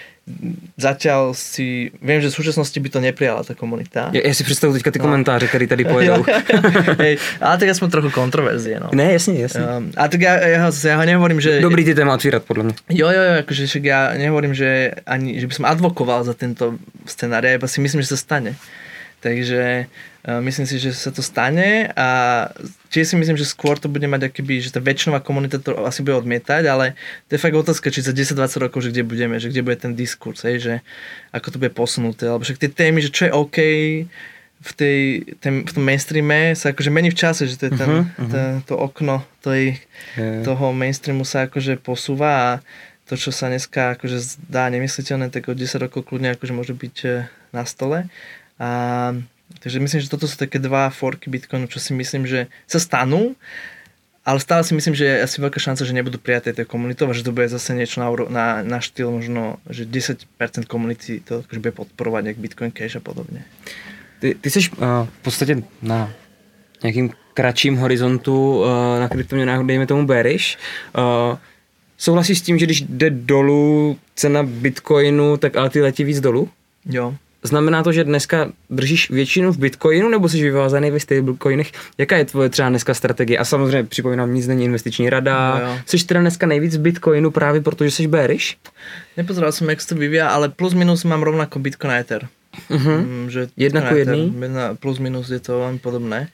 Zatiaľ si, viem, že v súčasnosti by to neprijala tá komunita. Ja, ja si predstavujem teďka ty no. komentáře, které tady pojedou. Hej, ale tak ja som trochu kontroverzie, no. Ne, jasne, jasne. Um, a tak ja, ja, ja ho nehovorím, že... Dobrý ty téma otvírať, podľa mňa. Jo, jo, jo, akože však ja nehovorím, že ani, že by som advokoval za tento scenár, ja iba si myslím, že sa stane. Takže uh, myslím si, že sa to stane a čiže si myslím, že skôr to bude mať akýby, že tá väčšinová komunita to asi bude odmietať, ale to je fakt otázka, či za desať dvadsať rokov, že kde budeme, že kde bude ten diskurs, hej, že ako to bude posunuté, alebo však tie témy, že čo je OK v, tej, ten, v tom mainstreame sa akože mení v čase, že to je ten, uh-huh, uh-huh. Ten, to okno tej, yeah. toho mainstreamu sa akože posúva a to, čo sa dneska akože zdá nemysliteľné, tak o desať rokov kľudne akože môže byť na stole. A, takže myslím, že toto sú také dva forky Bitcoinu, čo si myslím, že sa stanú, ale stále si myslím, že je asi veľká šanca, že nebudú prijaté tej komunitou a že to bude zase niečo na, na, na štýl možno, že desať percent komunity to akože bude podporovať, jak Bitcoin Cash a podobne. Ty, ty jsi uh, v podstatě na nějakým kratším horizontu uh, na kryptoměnách, dejme tomu bearish. Uh, souhlasíš s tím, že když jde dolů cena Bitcoinu, tak ale ty letí víc dolů? Jo. Znamená to, že dneska držíš většinu v Bitcoinu, nebo jsi vyvázaný ve stablecoinech? Jaká je tvoje třeba dneska strategie? A samozřejmě připomínám, nic není investiční rada. No, jsi teda dneska nejvíc v Bitcoinu právě protože jsi bearish? Nepozeral som, jak sa to vyvíja, ale plus minus mám rovnako Bitcoin a Ether. Uh-huh. Mm, že jedna ku jedný? Plus minus je to veľmi podobné.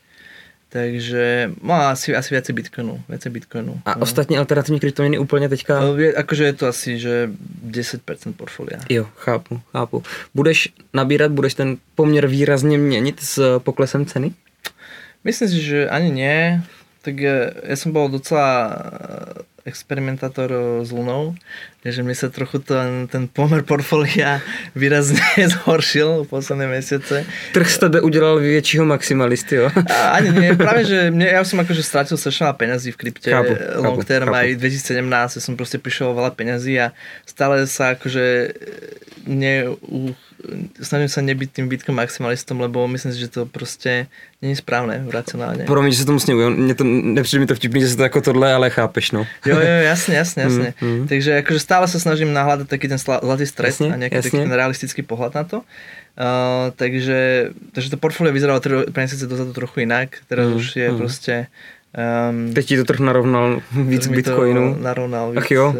Takže no, asi, asi viacej Bitcoinu, viacej Bitcoinu. A no. ostatní alternativní kryptoměny úplně teďka? Je, akože je to asi, že desať percent portfolia. Jo, chápu, chápu. Budeš nabírat, budeš ten poměr výrazně měnit s poklesem ceny? Myslím si, že ani nie. Tak ja, ja som bol docela experimentátor s Lunou, takže mi sa trochu ten, ten pomer portfólia výrazne zhoršil v posledné mesiace. Trh z tebe udělal většího maximalisty, jo? A, ani nie, práve, že mne, ja som akože stratil strašne veľa peňazí v krypte, chápu, long term, chápu. aj dvetisícsedemnásť som proste prišiel veľa peňazí a stále sa akože ne, uh, snažím sa nebyť tým Bitcoin maximalistom, lebo myslím si, že to proste nie je správne, racionálne. Promiň, že sa tomu sněhuji, mne to nepřijde mi to vtipný, že sa to ako tohle, ale chápeš, no. Jo, jo, jasne, jasne, jasne. Mm, mm. Takže akože stále sa snažím nahľadať taký ten zlatý stred jasne, a nejaký jasne. taký ten realistický pohľad na to. Uh, takže, takže to portfólio vyzeralo tri mesiace dozadu trochu inak, teraz mm, už je mm. proste... Um, Teď ti to trh narovnal víc Bitcoinu. Narovnal víc. Ach jo,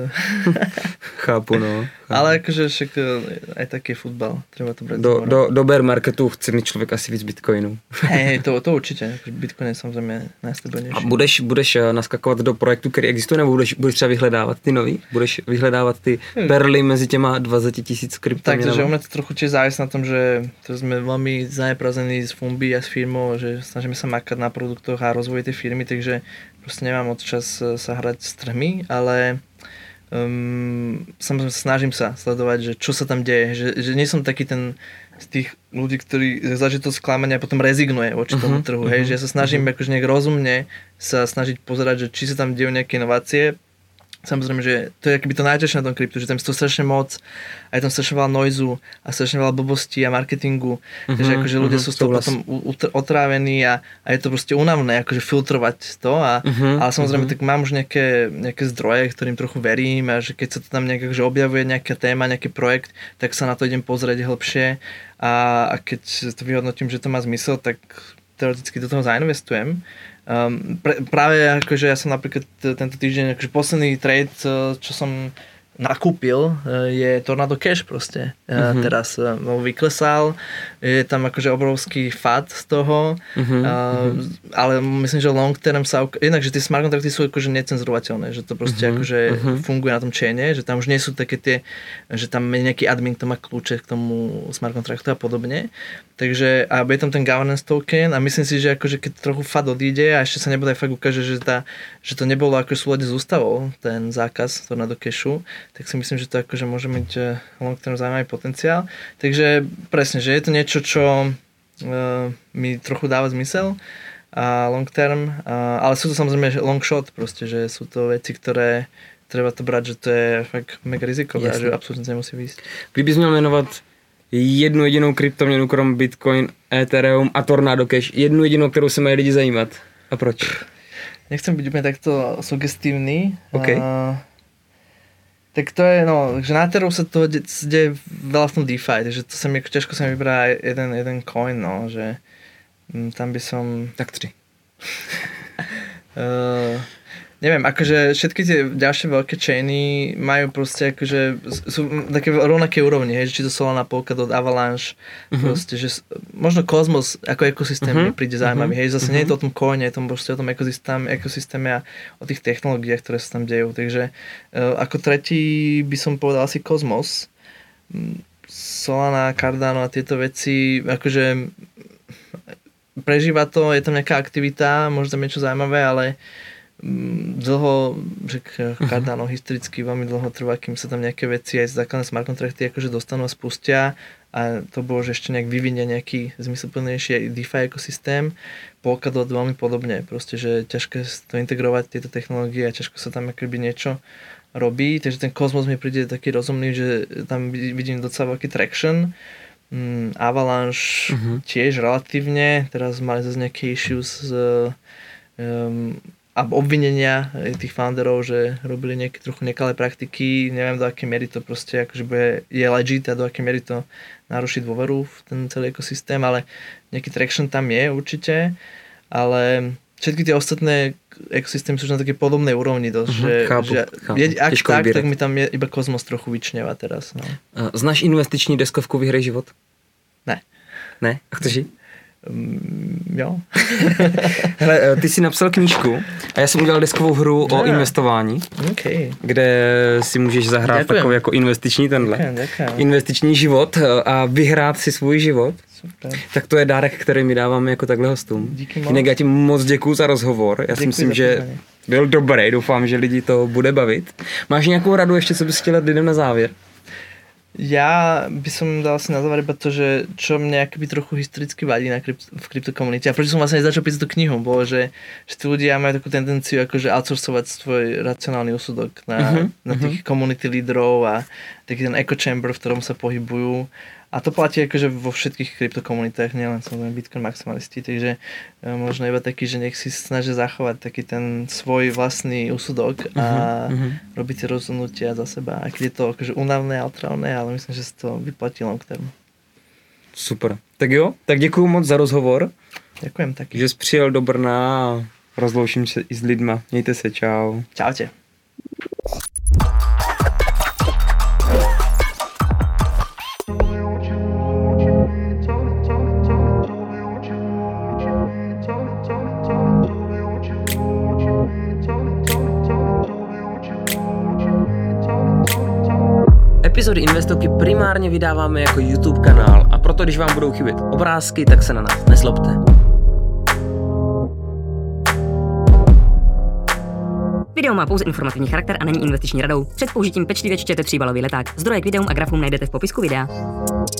chápu, no. Chápu. Ale akože však aj taký je futbal, treba to brať. Do, do, do bear marketu chce mít člověk asi víc Bitcoinu. Hej, hej, to, to určitě. Bitcoin je samozřejmě najstabilnější. A budeš, budeš naskakovat do projektu, který existuje, nebo budeš, budeš třeba vyhledávat ty nový? Budeš vyhledávat ty perly mezi těma dvacet tisíc kryptoměnami? Takže u mňa to trochu tiež závisí na tom, že to sme veľmi zaneprazení z Fumbi a s firmou, že snažíme sa makať na produktoch a rozvoji tej firmy, takže proste nemám moc čas sa hrať s trhmi, ale um, samozrejme snažím sa sledovať, že čo sa tam deje, že, že nie som taký ten z tých ľudí, ktorí zažije to sklamanie a potom rezignuje voči tomu uh-huh, trhu, uh-huh, hej, že ja sa snažím uh-huh. akože nejak rozumne sa snažiť pozerať, že či sa tam dejú nejaké inovácie. Samozrejme, že to je akoby to najťažšie na tom kryptu, že tam je to strašne moc a je tam strašne veľa noizu a strašne veľa blbostí a marketingu, uh-huh, takže akože ľudia uh-huh, sú z toho potom otrávení a, a je to proste únavné, akože filtrovať to a, uh-huh, ale samozrejme uh-huh. tak mám už nejaké, nejaké zdroje, ktorým trochu verím a že keď sa to tam nejak akože objavuje nejaká téma, nejaký projekt, tak sa na to idem pozrieť hlbšie a, a keď to vyhodnotím, že to má zmysel, tak teoreticky do toho zainvestujem. Um, pre, práve akože ja som napríklad tento týždeň, akože posledný trade, čo som nakúpil, je Tornado Cash proste. Uh-huh. Teraz uh, vyklesal, je tam akože obrovský fat z toho, uh-huh. uh, ale myslím, že long term sa, jednak, že tie smart kontrakty sú akože necenzurovateľné, že to proste uh-huh. akože uh-huh. funguje na tom chaine, že tam už nie sú také tie, že tam je nejaký admin, kto má kľúče k tomu smart kontraktu a podobne. Takže a je tam ten governance token a myslím si, že akože keď trochu fat odíde a ešte sa nebude fakt ukáže, že, tá, že to nebolo ako súlade s ústavou, ten zákaz Tornado Cashu, tak si myslím, že to akože môže mať long term zaujímavý potenciál. Takže presne, že je to niečo, čo uh, mi trochu dáva zmysel a long term, uh, ale sú to samozrejme long shot proste, že sú to veci, ktoré treba to brať, že to je fakt mega rizikové a že absolútne nemusí výjsť. Kdybys měl jmenovat jednu jedinou kryptoměnu krom Bitcoin, Ethereum a Tornado Cash, jednu jedinou, kterou se mají lidi zajímat. A proč? Nechcem byť úplne takto sugestívny. Okay. Uh, tak to je, no, že na Ethereum sa toho deje veľa v tom DeFi, takže to sa mi, ťažko sa mi vybrá jeden, jeden coin, no, že m, tam by som... Tak tři. uh, neviem, akože všetky tie ďalšie veľké chainy majú proste akože sú také rovnaké úrovni, hej, či to Solana, Polkadot, Avalanche, uh-huh. proste, že možno Cosmos ako ekosystém uh-huh. mi príde zaujímavý, hej, zase uh-huh. nie je to o tom coine, je to proste o tom ekosystém, ekosystéme a o tých technológiách, ktoré sa tam dejú, takže uh, ako tretí by som povedal asi Cosmos, Solana, Cardano a tieto veci, akože prežíva to, je tam nejaká aktivita, môže tam niečo zaujímavé, ale dlho, že Cardano historicky veľmi dlho trvá, kým sa tam nejaké veci aj z základné smart kontrakty akože dostanú a spustia a to bolo, že ešte nejak vyvinie nejaký zmysluplnejší DeFi ekosystém. Polkadot veľmi podobne, proste, že ťažké to integrovať tieto technológie a ťažko sa tam akoby niečo robí, takže ten Cosmos mi príde taký rozumný, že tam vidím docela veľký traction. Mm, Avalanche uh-huh. tiež relatívne, teraz mali zase nejaké issues z um, a obvinenia tých founderov, že robili nejaké trochu nekalé praktiky, neviem do akej miery to proste akože bude, je legit a do akej miery to naruší dôveru v ten celý ekosystém, ale nejaký traction tam je určite, ale všetky tie ostatné ekosystémy sú už na takej podobnej úrovni dosť, uh-huh, že, chápu, že chápu. Je, ak Těžko tak, vybírat. tak mi tam je iba Cosmos trochu vyčneva teraz. No. Znáš investiční deskovku Vyhraj život? Ne. Ne? A chceš ji? Um, jo. Hele, ty jsi napsal knížku a já jsem udělal deskovou hru o investování, okay. kde si můžeš zahrát Děkujem. takový jako investiční tenhle. Děkujem, děkujem. Investiční život a vyhrát si svůj život. Super. Tak to je dárek, který my dáváme jako takhle hostům. Díky moc. Jinak já ti moc děkuju za rozhovor. Já si myslím, že pozvání. byl dobrý. Doufám, že lidi to bude bavit. Máš nějakou radu ještě, co bys chtěla lidem na závěr? Ja by som dal si na záver iba to, že čo mne akoby trochu historicky vadí na krypt, v kryptokomunite a prečo som vlastne začal písať tú knihu, bolo, že, že tí ľudia majú takú tendenciu akože outsourcovať svoj racionálny úsudok na, uh-huh, na tých uh-huh. community lídrov a taký ten echo chamber, v ktorom sa pohybujú. A to platí akože vo všetkých kryptokomunitách, nielen samozrejme Bitcoin maximalisti, takže možno iba taký, že nech si snažia zachovať taký ten svoj vlastný úsudok a uh-huh. robiť si rozhodnutia za seba. A keď je to akože únavné a otrávne, ale myslím, že si to vyplatí long term. Super. Tak jo, tak děkuju moc za rozhovor. Ďakujem taky. Že jsi přijel do Brna a rozloučím se i s lidma. Mějte se, čau. Čaute. Epizody Investovky primárně vydáváme jako YouTube kanál a proto, když vám budou chybět obrázky, tak se na nás nezlobte. Video má pouze informativní charakter a není investiční radou. Před použitím pečlivě čtěte příbalový leták. Zdroje k videům a grafům najdete v popisku videa.